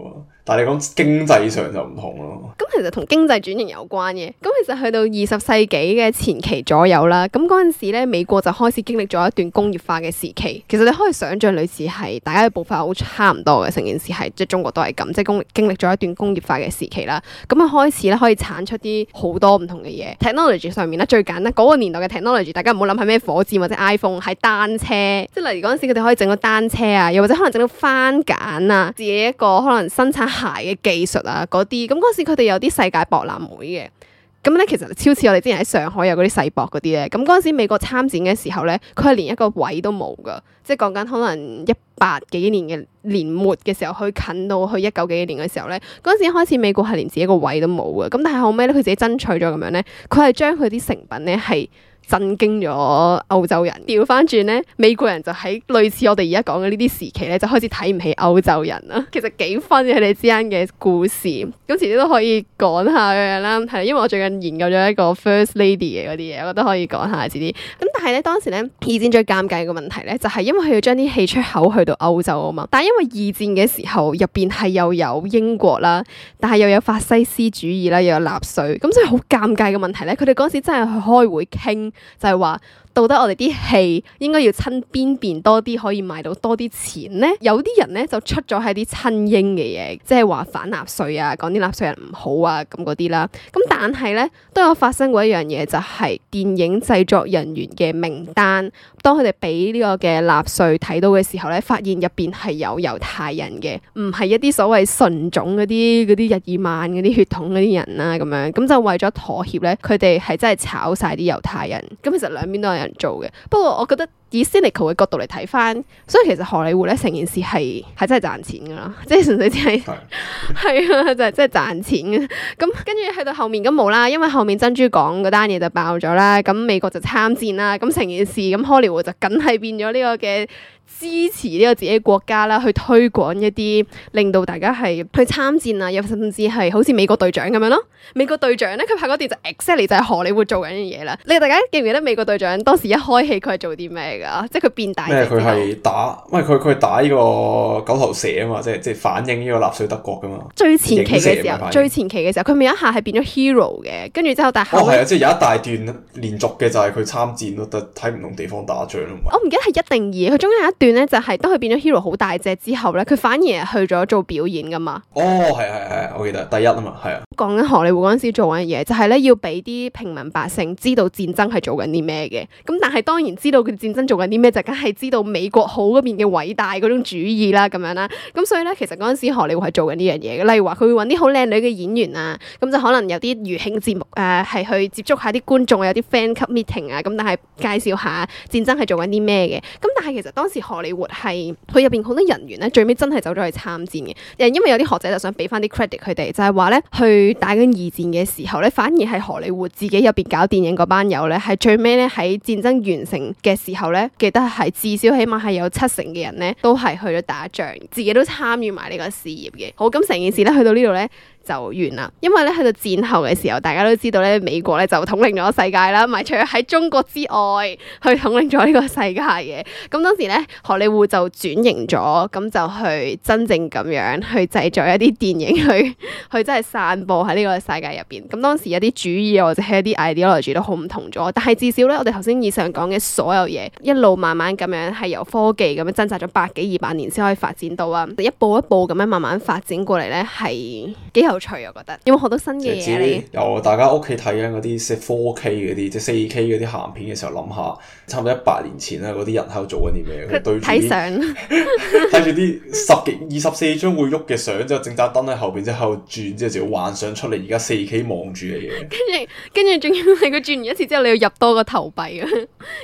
但係你講經濟上就唔同咯。 咁其實同經濟轉型有關嘅。咁其實去到20世紀嘅前期左右啦，咁嗰陣時咧，美國就開始經歷咗一段工業化嘅時期。其實你可以想象類似係大家嘅步伐好差唔多嘅，成件事係即係中國都係咁，即係經歷咗一段工業化嘅時期啦。咁啊開始咧可以產出啲好多唔同嘅嘢。technology 上面咧最簡單嗰個年代嘅 technology， 大家唔好諗係咩火箭或者 iPhone， 係單車。即係例如嗰陣時佢哋可以整到單車啊，又或者可能整到番梘啊，自己一個可能生產鞋嘅技術啊嗰啲。咁嗰時佢哋有啲世界博覽會嘅。咁咧其實超似我哋之前喺上海有嗰啲世博嗰啲咧。咁嗰陣時美國參展嘅時候咧，佢係連一個位都冇噶。即係講緊可能18幾年嘅年末嘅時候，去近到去19幾年嘅時候咧，嗰陣時開始美國係連自己一個位都冇嘅。咁但係後尾咧，佢自己爭取咗咁樣咧，佢係將佢啲成品咧係震驚咗歐洲人。調翻轉咧，美國人就喺類似我哋而家講嘅呢啲時期咧，就開始睇唔起歐洲人啦。其實幾分嘅佢哋之間嘅故事，咁遲啲都可以講下咁樣啦。係因為我最近研究咗一個 First Lady 嘅嗰啲嘢，我覺得可以講下遲啲。咁但係咧當時咧二戰最尷尬嘅問題咧，就係因為佢要將啲戲出口去到歐洲啊嘛。但係因為二戰嘅時候入邊係又有英國啦，但係又有法西斯主義啦，又有納粹，咁所以好尷尬嘅問題咧，佢哋嗰時真係去開會傾。就係話，到底我哋啲戲應該要親邊多啲，可以賣到多啲錢咧？有啲人咧就出咗係啲親英嘅嘢，即係話反納粹啊，講啲納粹人唔好啊咁嗰啲啦。咁但係咧都有發生過一樣嘢，就係電影製作人員嘅名單，當佢哋俾呢個嘅納粹睇到嘅時候咧，發現入邊係有猶太人嘅，唔係一啲所謂純種嗰啲日耳曼嗰啲血統嗰啲人啦咁樣。咁就為咗妥協咧，佢哋係真係炒晒啲猶太人。咁其實兩邊都有人做嘅，不過我覺得以 cynical 嘅角度嚟睇翻，所以其實荷里活咧成件事係真係賺錢噶啦，即係純粹只係係啊，就係真係賺錢嘅。咁跟住去到後面咁冇啦，因為後面珍珠港嗰單嘢就爆咗啦，咁美國就參戰啦，咁成件事咁荷里活就梗係變咗呢個嘅支持呢個自己國家啦，去推廣一啲令到大家係去參戰啊，又甚至係好似美國隊長咁樣咯。美國隊長咧，佢拍嗰段就 exactly 就係荷里活做緊嘅嘢啦。你哋大家記唔記得美國隊長當時一開戲佢係做啲咩噶？即係佢變大隻之後佢係打，因為佢係打呢個九頭蛇啊嘛，即係反映呢個納粹德國噶嘛。 最前期嘅時候，佢咪有一下係變咗 hero 嘅，跟住之後但係係啊，即係有一大段連續嘅就係佢參戰咯，但喺唔同地方打仗咯。 我唔記得係一定二，佢中間有一段咧就係當佢變咗 hero 好大隻之後咧，佢反而係去咗做表演噶嘛。 哦，係，我記得第一啊嘛，係啊。 講緊荷里活嗰陣時做緊嘢，就係咧要俾啲平民百姓知道戰爭係做緊啲咩嘅。咁但係當然知道佢戰爭做緊啲咩，就梗係知道美國好嗰邊嘅偉大嗰種主義啦，咁樣啦。咁所以咧，其實嗰陣時荷里活係做緊呢樣嘢嘅。例如話佢會揾啲好靚女嘅演員啊，咁就可能有啲餘興節目啊，係去接觸下啲觀眾，有啲 fan club meeting 啊，咁但係介紹下戰爭係做緊啲咩嘅。咁但係其實當時荷里活係佢入邊好多人員咧，最尾真係走咗去參戰嘅。因為有啲學者就想俾翻啲 credit 佢哋，就係話咧去打緊二戰嘅時候咧，反而係荷里活自己入邊搞電影嗰班友咧，係最尾咧喺戰爭完成嘅時候咧，記得係至少起碼係有70%嘅人咧都係去咗打仗，自己都參與埋呢個事業嘅。好，咁成件事咧去到呢度咧就完啦，因為咧去到戰後嘅時候，大家都知道咧美國咧就統領咗世界啦，唔係除咗喺中國之外去統領咗呢個世界嘅。咁當時咧荷里活就轉型咗，咁就去真正咁樣去製作一啲電影去真係散播喺呢個世界入邊。咁當時有啲主義或者係一啲 ideology 都好唔同咗，但係至少咧我哋頭先以上講嘅所有嘢，一路慢慢咁樣係由科技咁樣掙扎咗100幾200年先可以發展到啊，一步一步咁樣慢慢發展過嚟咧，係幾有趣，我覺得有冇好多新嘅嘢嚟？ 由大家屋企睇緊嗰啲即係 4K 嗰啲，即係 4K 嗰啲鹹片嘅時候，諗下差唔多100年前啦，嗰啲人喺度做緊啲咩？佢對住睇相，睇住啲10幾24張會喐嘅相，之後整盞燈喺後邊，之後喺度轉，之後就要幻想出嚟而家 4K 望住嘅嘢。跟住仲要係佢轉完一次之後，你要入多個投幣啊！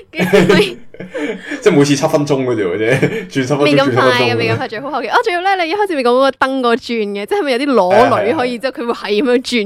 即係每次7分鐘嗰條嘅啫，轉7分鐘。 未咁快嘅，未咁快，最好後期。仲要咧，你一開始咪講嗰個燈個轉嘅，即係咪有啲裸女可以之後佢會係咁樣轉嗰個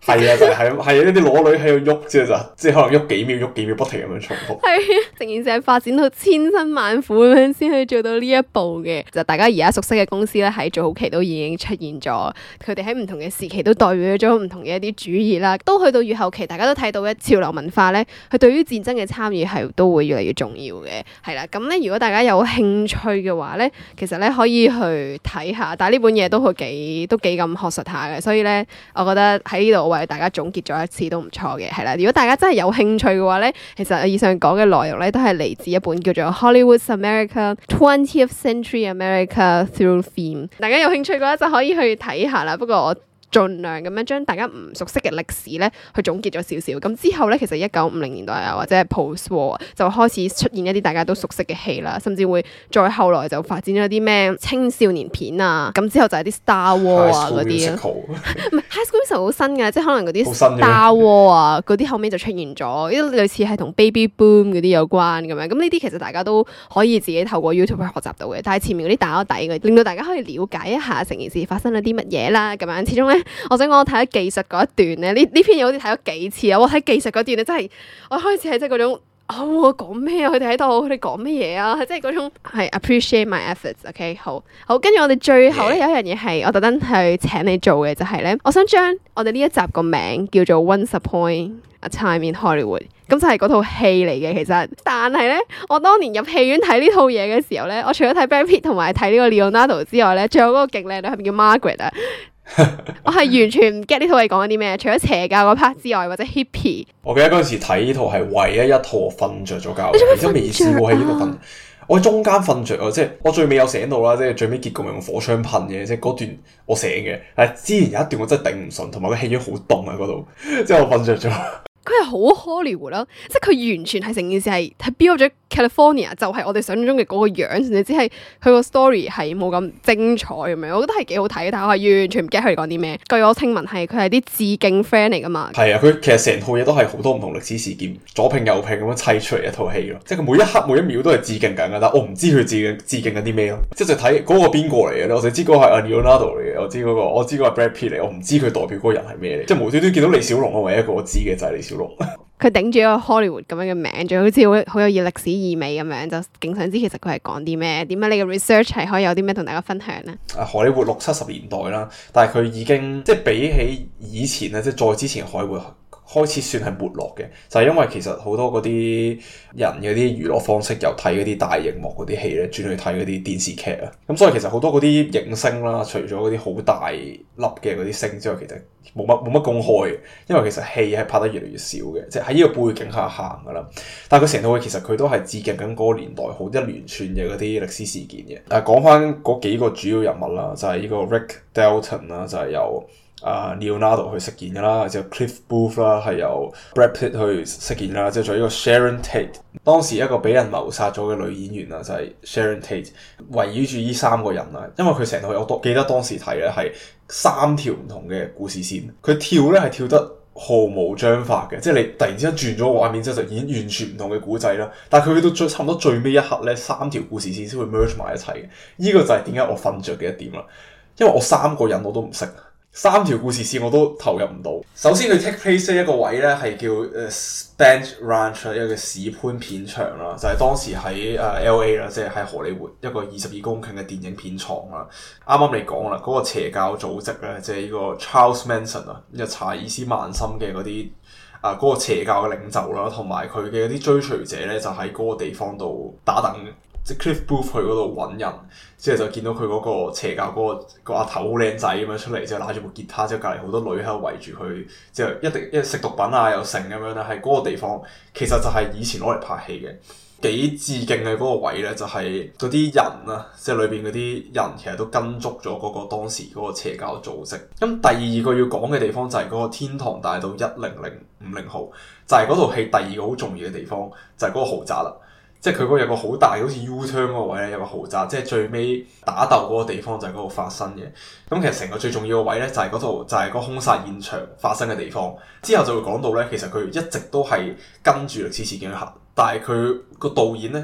係啊，就係一啲裸女喺度喐之後就，即係可能喐幾秒，不停咁樣重複。 係啊，成件事係發展到千辛萬苦咁樣先去做到呢一步嘅。就大家而家熟悉嘅公司咧，喺早期都已經出現咗，佢哋喺唔同嘅時期都代表咗唔同嘅一啲主義啦。都去到越後期，大家都睇到嘅潮流文化咧，佢對於戰爭嘅參與係都會越嚟越重要嘅。係啦，咁咧如果大家有興趣嘅話咧，其實咧可以去睇下。但係呢本嘢都幾咁學術下嘅，所以咧，我覺得喺呢度我為大家總結咗一次都唔錯嘅。係啦，如果大家真係有興趣嘅話咧，其實以上講嘅內容咧都係嚟自一本叫做 Hollywood's America 20th Century America Through Film。大家有興趣嘅話就可以去睇下啦。不過我盡量咁樣將大家唔熟悉嘅歷史咧，去總結咗少少。咁之後咧，其實1950年代啊，或者係 post-war 就開始出現一啲大家都熟悉嘅戲啦，甚至會再後來就發展咗啲咩青少年片啊。咁之後就係啲 Star War 啊嗰啲啊，唔係 High School Musical 好新嘅，即係可能嗰啲 Star War 啊嗰啲後尾就出現咗，呢類似係同 Baby Boom 嗰啲有關咁樣。咁呢啲其實大家都可以自己透過 YouTube 去學習到嘅。但係前面嗰啲打咗底嘅，令到大家可以了解一下成件事發生咗啲乜嘢啦。咁樣始終咧。我想講我睇咗技術嗰一段咧，呢篇嘢好似睇咗幾次啊！我睇技術嗰段咧，真係我開始係即係嗰種，我講咩啊？佢哋喺度，佢哋講乜嘢啊？係即係嗰種係 appreciate my efforts。OK， 好，跟住我哋最後咧有一樣嘢係我特登去請你做嘅，就係咧，我想將我哋呢一集個名叫做 Once Upon a Time in Hollywood， 咁就係嗰套戲嚟嘅其實。但係咧，我當年入戲院睇呢套嘢嘅時候咧，我除咗睇 Brad Pitt 同埋睇呢個 Leonardo 之外咧，仲有嗰個勁靚女係咪叫 Margaret 啊？我係完全唔 get 呢套戲講緊啲咩，除咗邪教嗰 part 之外，或者 hippie。我記得嗰陣時睇呢套係唯一一套我瞓着咗覺，而且未試過喺呢度瞓。我喺中間瞓着啊，即係我最尾有醒到啦，即係最尾結局用火槍噴嘅，即係嗰段我醒嘅。但係之前有一段我真係頂唔順，同埋個氣氛好凍啊嗰度，即係我瞓着咗。佢係好 Hollywood 啦，即係佢完全係成件事係 build 咗 California，就係我哋想象中嘅嗰個樣，甚至只係佢個 story 係冇咁精彩咁樣，我覺得係幾好睇，但係我係完全唔記得佢哋講啲咩。據我聽聞係佢係啲致敬 friend 嚟噶嘛。係啊，佢其實成套嘢都係好多唔同歷史事件左拼右拼咁樣砌出嚟一套戲咯，即係佢每一刻每一秒都係致敬緊噶，但我唔知佢致敬緊啲咩咯，即係就睇嗰個邊個嚟嘅，我就知嗰個係 Leonardo 嚟嘅，我知嗰個係 Brad Pitt 嚟，我唔知佢代表嗰個人係咩嚟，即係無端端見到李小龍，我唯一一個我知嘅就係李小龍。佢頂住一個 Hollywood 咁樣嘅名，仲好似好有歷史意味咁樣，就勁想知其實佢係講啲咩？點解你嘅 research 係可以有啲咩同大家分享呢？荷里活60、70年代啦，但係佢已經即係比起以前咧，即係再之前荷里活開始算係沒落嘅，就係因為其實好多嗰啲人嗰啲娛樂方式由睇嗰啲大熒幕嗰啲戲咧，轉去睇嗰啲電視劇啊。咁所以其實好多嗰啲影星啦，除咗嗰啲好大粒嘅嗰啲星之外，其實冇乜公開嘅，因為其實戲係拍得越嚟越少嘅，即係喺呢個背景下行噶啦。但係佢成套戲其實佢都係致敬緊嗰個年代好一連串嘅嗰啲歷史事件嘅。講翻嗰幾個主要人物啦，就係呢個 Rick Dalton 啦，就係由Leonardo 去飾演嘅啦，之後 Cliff Booth 啦係由 Brad Pitt 去飾演啦，之後仲有呢個 Sharon Tate， 當時一個俾人謀殺咗嘅女演員啊，就係 Sharon Tate， 圍繞住呢3個人啊，因為佢成套我記得當時睇咧係3條唔同嘅故事線，佢跳咧係跳得毫無章法嘅，即係你突然之間轉咗個畫面之後就已經完全唔同嘅古仔啦，但係佢去到差唔多最尾一刻咧，3條故事線先會 merge 埋一齊嘅，呢個就係點解我瞓着嘅一點啦，因為我3個人我都唔識。3條故事線我都投入唔到。首先佢 take place 一個位咧係叫Spence Ranch 一個史潘片場啦，就係當時喺LA 啦，即係喺荷里活一個22公頃嘅電影片廠啦。啱啱你講啦，嗰個邪教組織咧，即係呢個 Charles Manson 啊，呢個查爾斯曼森嘅嗰啲嗰個邪教嘅領袖啦，同埋佢嘅啲追隨者咧，就喺嗰個地方度打等。即係 Cliff Booth 去嗰度揾人，之後就見到佢嗰個邪教嗰個阿頭好靚仔咁樣出嚟，之後拿住部吉他，之後隔離好多女喺度圍住佢，之後一食毒品啊又成咁樣啦，喺嗰個地方其實就係以前攞嚟拍戲嘅，幾致敬嘅嗰個位咧，就係嗰啲人啊，即係裏邊嗰啲人其實都跟足咗嗰個當時嗰個邪教組織。咁第二個要講嘅地方就係嗰個天堂大道10050號，就係嗰套戲第二個好重要嘅地方，就係嗰個豪宅啦。即係佢嗰個有個好大好似 U-turn 嗰個位咧，有個豪宅，即係最尾打鬥嗰個地方就係嗰度發生嘅。咁其實成個最重要嘅位咧，就係嗰度就係個兇殺現場發生嘅地方。之後就會講到咧，其實佢一直都係跟住歷史事件去行，但係佢個導演咧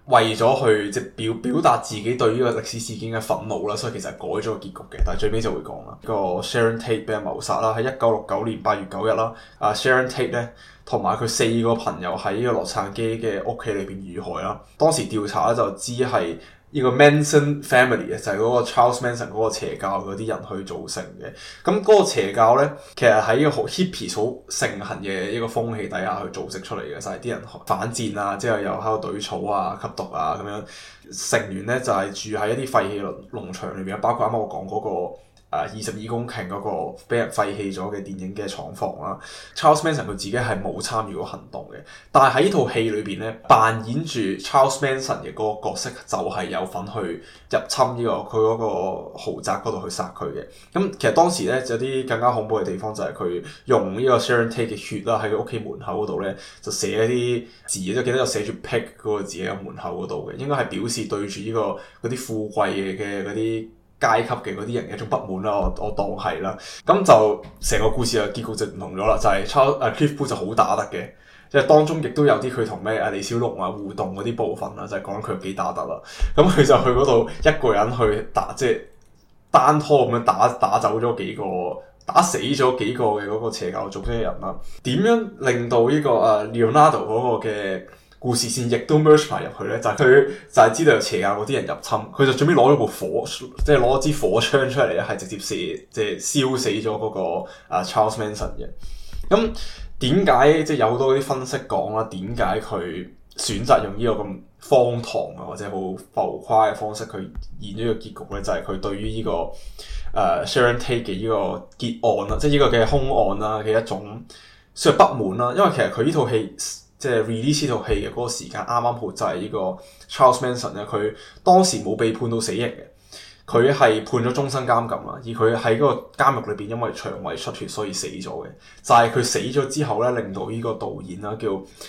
為咗去即係表達自己對呢個歷史事件嘅憤怒啦，所以其實改咗個結局嘅。但係最尾就會講啦，個 Sharon Tate 俾人謀殺啦，喺1969年8月9日啦。Sharon Tate 咧同埋佢4個朋友喺呢個洛杉磯嘅屋企裏邊遇害啦。當時調查咧就知係呢個 Manson Family 就係嗰個 Charles Manson 嗰個邪教嗰啲人去造成嘅。咁嗰個邪教咧，其實喺一個好 hippie 好盛行嘅一個風氣底下去組織出嚟嘅，就係啲人反戰啊，之後又喺度懟草啊、吸毒啊咁樣。成員咧就係住喺一啲廢棄農場裏邊，包括啱啱我講嗰個22公頃嗰個俾人廢棄咗嘅電影嘅廠房啦。Charles Manson 佢自己係冇參與過行動嘅，但係喺呢套戲裏邊咧，扮演住 Charles Manson 嘅嗰個角色就係有份去入侵呢個佢嗰個豪宅嗰度去殺佢嘅。咁其實當時咧有啲更加恐怖嘅地方就係佢用呢個 Sharon Tate 嘅血啦，喺佢屋企門口嗰度咧就寫一啲字，即係記得有寫住 pig 嗰個字喺門口嗰度嘅，應該係表示對住呢個嗰啲富貴嘅嗰啲階級嘅嗰啲人嘅一種不滿啦，我當係啦，咁就成個故事嘅結局就唔同咗啦，就係 Cliff Booth 就好打得嘅，即係當中亦都有啲佢同李小龍啊互動嗰啲部分啦，就係講佢有幾打得啦。咁佢就去嗰度一個人去打，即係單拖咁樣打走咗幾個，打死咗幾個嘅嗰個邪教組織嘅人啦。點樣令到呢個Leonardo 嗰個嘅故事線亦都 merge 埋入去咧，就係佢就係知道有邪教嗰啲人入侵，佢就準備攞咗部火，即係攞支火槍出嚟咧，係直接即係燒死咗嗰個Charles Manson 嘅。咁點解即係有好多啲分析講啦？點解佢選擇用呢個咁荒唐啊或者好浮誇嘅方式去演咗個結局咧？就係佢對於呢個Sharon Tate 嘅呢個結案啦，即係呢個嘅兇案啦嘅一種算係不滿啦。因為其實佢呢套戲，即係 release 呢套戲嘅嗰個時間啱啱好就係呢個 Charles Manson 咧，佢當時冇被判到死刑嘅，佢係判咗終身監禁啦，而佢喺嗰個監獄裏邊因為腸胃出血所以死咗嘅。就係佢死咗之後咧，令到呢個導演啦叫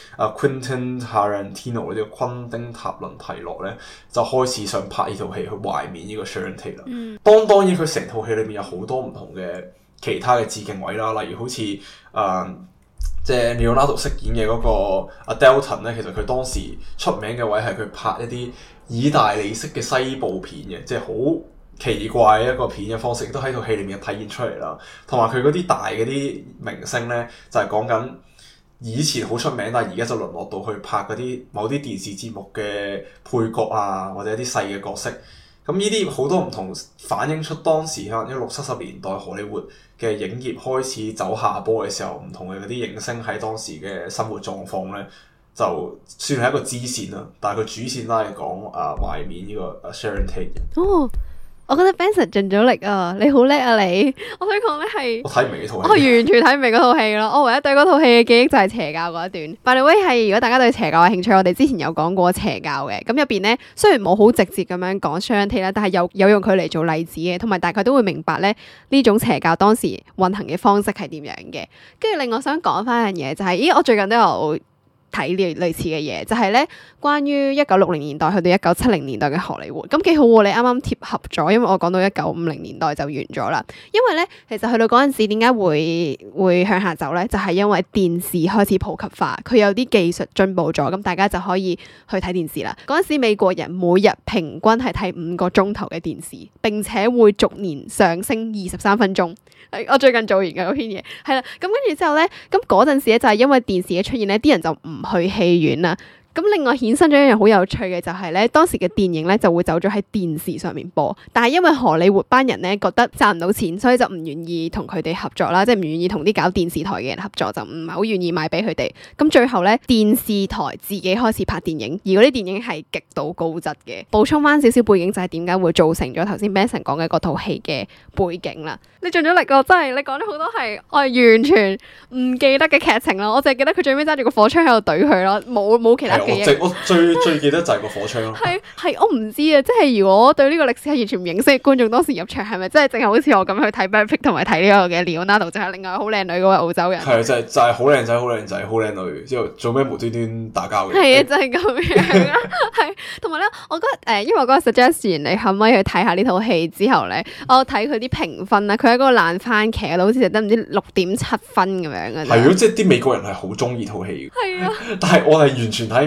Quentin Tarantino 呢個昆汀塔倫提諾咧，就開始想拍呢套戲去懷緬呢個 Sharon Tate 啦。當然佢成套戲裏面有好多唔同嘅其他嘅致敬位啦，例如好似即係 Leonardo 飾演嘅嗰個 Dalton 咧，其實佢當時出名嘅位係佢拍一啲意大利式嘅西部片嘅，即係好奇怪一個片嘅方式，亦都喺套戲裏面體現出嚟啦。同埋佢嗰啲大嗰啲明星咧，就係講緊以前好出名，但係而家就淪落到去拍嗰啲某啲電視節目嘅配角啊，或者一啲細嘅角色。咁呢啲好多唔同，反映出當時可能因為60-70年代荷里活嘅影業開始走下坡嘅時候，唔同嘅嗰啲影星喺當時嘅生活狀況咧，就算係一個支線啦。但係佢主線都係講懷緬呢個Sharon Tate。 哦，我覺得 Benson 盡咗力啊！你好叻啊你！我想講咧係， 我睇唔明呢套戲， 我完全睇唔明嗰套戲咯。我唯一對嗰套戲嘅記憶就係邪教嗰一段。By the way，係如果大家對邪教有興趣，我哋之前有講過邪教嘅。咁入邊咧，雖然冇好直接咁樣講 Sharon Tate 啦，但係有用佢嚟做例子嘅，同埋大概都會明白咧呢種邪教當時運行嘅方式係點樣嘅。跟住另外我想講翻一樣嘢就係，咦我最近都有睇呢類似嘅嘢，就係咧關於1960年代去到1970年代嘅荷里活，咁幾好喎！你啱啱貼合咗，因為我講到1950年代就完咗啦。因為咧，其實去到嗰陣時點解會向下走咧？就係因為電視開始普及化，佢有啲技術進步咗，咁大家就可以去睇電視啦。嗰陣時美國人每日平均係睇5個鐘頭嘅電視，並且會逐年上升23分鐘。我最近做完嘅嗰篇嘢，係啦，咁跟住之後咧，咁嗰陣時咧就係因為電視嘅出現咧，啲人就唔去戲院啦。咁另外衍生咗一樣好有趣嘅就係咧，當時嘅電影咧就會走咗喺電視上面播，但係因為荷里活班人咧覺得賺唔到錢，所以就唔願意同佢哋合作啦，即係唔願意同啲搞電視台嘅人合作，就唔係好願意賣俾佢哋。咁最後咧，電視台自己開始拍電影，而嗰啲電影係極度高質嘅。補充翻少少背景就係點解會造成咗頭先 Benson 講嘅嗰套戲嘅背景啦。你盡咗力㗎，真係你講咗好多係我係完全唔記得嘅劇情啦，我淨係記得佢最尾揸住個火槍喺度懟佢咯，冇其他。 我最記得就係個火槍咯。係我唔知啊，即係如果對呢個歷史係完全唔認識嘅觀眾，當時入場係咪真係淨係好似我咁去睇 Brad Pitt 同埋睇呢個嘅 Leonardo， 就係另外好靚女嗰位澳洲人。 係就係好靚仔、好靚仔、好靚女，之後做咩無端端打交嘅？ 係啊，就係咁樣啦。係同埋咧，我覺得因為我嗰個 suggestion 你可唔可以去睇下呢套戲之後咧，我睇佢啲評分啦，佢喺嗰個爛番茄度好似得唔知6.7分咁樣嘅。係咯，即係啲美國人係好中意套戲嘅。係啊，但係我係完全睇唔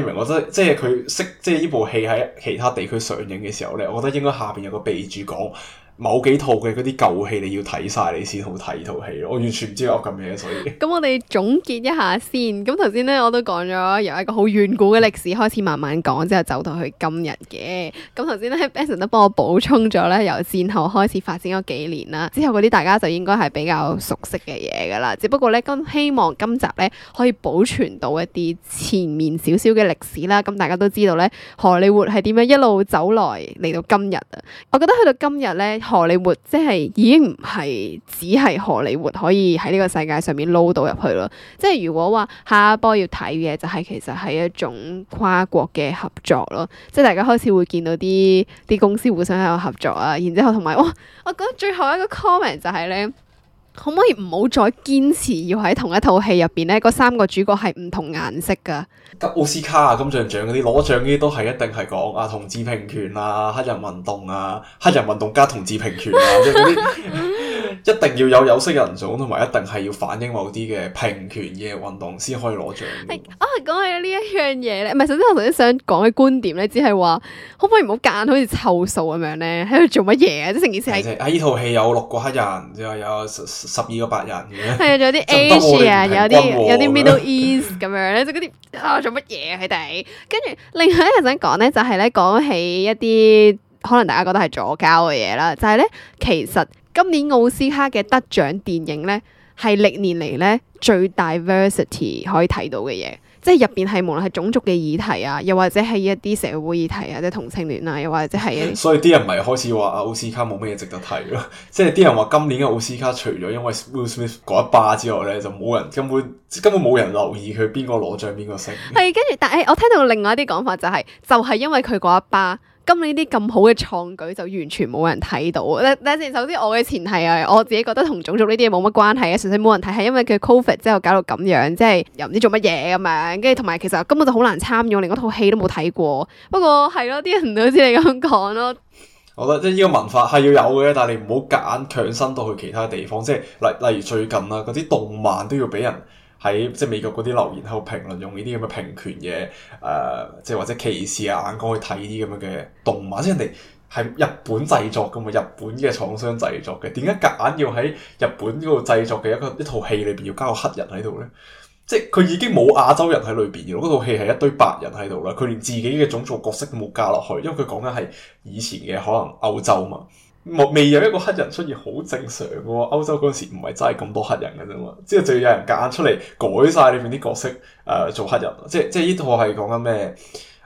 timing，我覺得即係佢即係呢部戲喺其他地區上映嘅時候咧，我覺得應該下邊有個備註講。某幾套嘅嗰啲舊戲你要睇晒，你先好睇呢套戲咯。我完全唔知我噏緊咩，所以咁我哋總結一下先。咁頭先咧我都講咗由一個好遠古嘅歷史開始慢慢講，之後走到去今日嘅。咁頭先咧 Benson 都幫我補充咗咧，由戰後開始發展咗幾年啦，之後嗰啲大家就應該係比較熟悉嘅嘢噶啦。只不過咧希望今集咧可以保存到一啲前面少少嘅歷史啦。咁大家都知道咧荷里活係點樣一路走來嚟到今日啊。我覺得去到今日咧。荷里活即係已經唔係只係荷里活可以喺呢個世界上面撈到入去咯，即係如果話下一波要睇嘅就係其實係一種跨國嘅合作咯，即係大家開始會見到啲公司互相喺度合作啊，然之後同埋我覺得最後一個 comment 就係咧。可唔可以唔好再堅持要喺同一套戲入邊咧？嗰三個主角係唔同顏色噶。 得奧斯卡啊、金像獎嗰啲攞獎嗰啲都係一定係講啊同志平權啊、黑人運動啊、黑人運動加同志平權啊，即係嗰啲一定要有色人種，同埋一定係要反映某啲嘅平權嘅運動先可以攞獎。 講起呢一樣嘢咧，唔係，首先我頭先想講嘅觀點咧，只係話可唔可以唔好夾硬好似湊數咁樣咧，喺度做乜嘢啊？即係成件事係喺呢套戲有6個黑人，之後有12個白人嘅。 係啊，仲有啲 Asia，有啲 Middle East 咁樣咧，即係嗰啲做乜嘢佢哋？跟住另外一個想講咧，就係咧講起一啲可能大家覺得係左膠嘅嘢啦，就係咧其實今年奧斯卡嘅得獎電影咧係歷年嚟咧最 diversity 可以睇到嘅嘢。即係入邊係無論係種族嘅議題啊，又或者係一啲社會議題啊，即係同性戀啊，又或者係一啲，所以啲人咪開始話奧斯卡冇咩嘢值得睇咯。即係啲人話今年嘅奧斯卡除咗因為 Will Smith 嗰一巴之外咧，就冇人根本冇人留意佢邊個攞獎邊個勝。係跟住， 但係我聽到另外一啲講法就係因為佢嗰一巴。今年啲咁好嘅創舉就完全冇人睇到。但係首先我嘅前提係我自己覺得同種族呢啲嘢冇乜關係嘅，純粹冇人睇係因為佢 Covid 之後搞到咁樣，即係又唔知做乜嘢咁樣，跟住同埋其實根本就好難參與，我連嗰套戲都冇睇過。不過係咯，啲人都好似你咁講咯。 我覺得即係呢個文化係要有嘅，但係你唔好夾硬強伸到去其他地方，即係例如最近啦，嗰啲動漫都要俾人。喺即係美國嗰啲留言喺度評論，用呢啲咁嘅平權嘅即係或者歧視啊眼光去睇呢啲咁樣嘅動漫，即係人哋係日本製作㗎嘛，日本嘅廠商製作嘅，點解夾硬要喺日本嗰度製作嘅一套戲裏邊要加個黑人喺度咧？即係佢已經冇亞洲人喺裏邊嘅，嗰套戲係一堆白人喺度啦，佢連自己嘅種族角色都冇加落去，因為佢講緊係以前嘅可能歐洲嘛。未有一個黑人出現好正常嘅喎，歐洲嗰陣時唔係真係咁多黑人嘅啫嘛，之後就要有人夾硬出嚟改晒裏面啲角色做黑人，即係呢套係講緊咩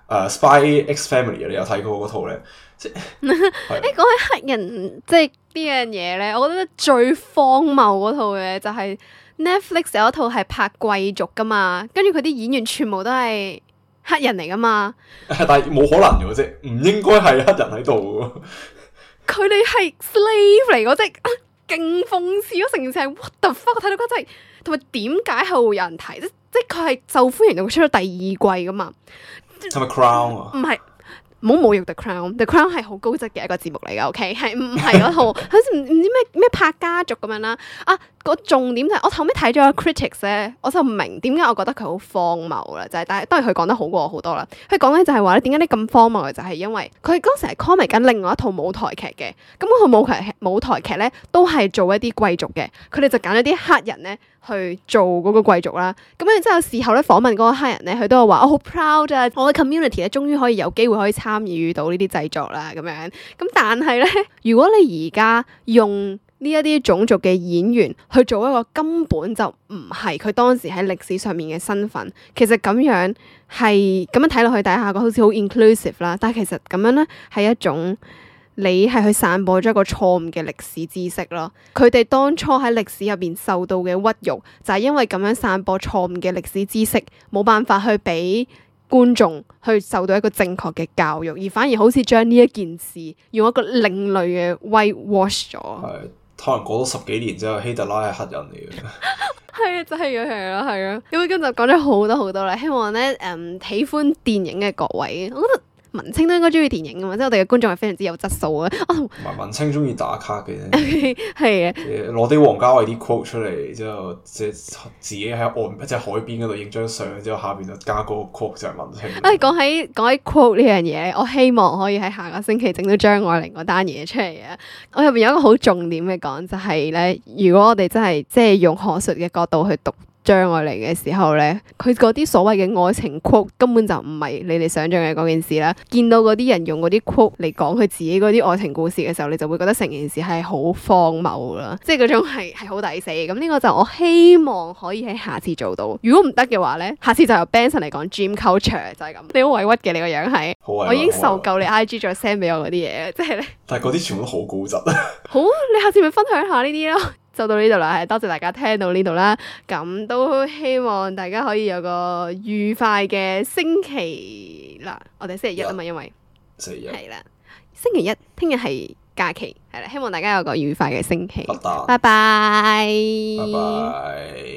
Spy X Family 你有睇過嗰套咧？即係講起黑人即係呢樣嘢咧，我覺得最荒謬嗰套嘅就係 Netflix 有一套係拍貴族噶嘛，跟住佢啲演員全部都係黑人嚟噶嘛， 但係冇可能嘅啫，唔應該係黑人喺度嘅。 佢哋係 slave 嚟，即係勁諷刺咯！成件事係 what the fuck，我睇到嗰真係，同埋點解係會有人睇？即係佢係受歡迎到佢出到第2季噶嘛？ 係咪 Crown 啊？ 唔係，唔好侮辱 The Crown。The Crown 係好高質嘅一個節目嚟噶，OK？ 係唔係嗰套？好似唔知咩拍家族咁樣啦。個重點就係我後尾睇咗個 critics 咧，我就唔明點解我覺得佢好荒謬啦，就係但係當然佢講得好過我好多啦。佢講咧就係話咧，點解你咁荒謬嘅就係因為佢嗰時係 comment 緊另外一套舞台劇嘅，咁嗰套舞台劇咧都係做一啲貴族嘅，佢哋就揀咗啲黑人咧去做嗰個貴族啦。咁然之後事後咧訪問嗰個黑人咧，佢都有話我好 proud 啊，我嘅 community 咧終於可以有機會可以參與到呢啲製作啦咁樣。咁但係咧，如果你而家用呢一啲種族嘅演員去做一個根本就唔係佢當時喺歷史上面嘅身份，其實咁樣睇落去底下個好似好 inclusive 啦，但係其實咁樣咧係一種你係去散播咗一個錯誤嘅歷史知識咯。佢哋當初喺歷史入邊受到嘅屈辱，就係因為咁樣散播錯誤嘅歷史知識，冇辦法去俾觀眾去受到一個正確嘅教育，而反而好似將呢一件事用一個另類嘅 whitewash 咗。 可能過咗10幾年之後，希特拉係黑人嚟嘅。 係啊，真係嘅，係啊，係啊。咁今日講咗好多好多啦，希望咧喜歡電影嘅各位，我覺得文青都應該中意電影噶嘛，即係我哋嘅觀眾係非常之有質素啊。 唔係文青中意打卡嘅啫， 係嘅。 攞啲王家衛啲 quote 出嚟之後，即係自己喺岸即係海邊嗰度影張相，之後下邊就加個 quote 就係文青。 講起 quote 呢樣嘢，我希望可以喺下個星期整到張愛玲嗰單嘢出嚟啊！我入邊有一個好重點嘅講，就係咧，如果我哋真係即係用學術嘅角度去讀張愛玲嘅時候咧，佢嗰啲所謂嘅愛情 quote 根本就唔係你哋想象嘅嗰件事啦。見到嗰啲人用嗰啲 quote 嚟講佢自己嗰啲愛情故事嘅時候，你就會覺得成件事係好荒謬啦，即係嗰種係好抵死。咁呢個就我希望可以喺下次做到。如果唔得嘅話咧，下次就由 Benson 嚟講 dream culture 就係咁。你好委屈嘅你個樣係，我已經受夠你 IG 再 send 俾我嗰啲嘢，即係咧。 但係嗰啲全部都好高質啊！ 好，你下次咪分享下呢啲咯。就到呢度啦，係多謝大家聽到呢度啦，咁都希望大家可以有個愉快嘅星期啦。我哋星期一啊嘛，因為星期一係啦，星期一聽日係假期，係啦，希望大家有個愉快嘅星期。 拜拜。 拜拜。 拜拜。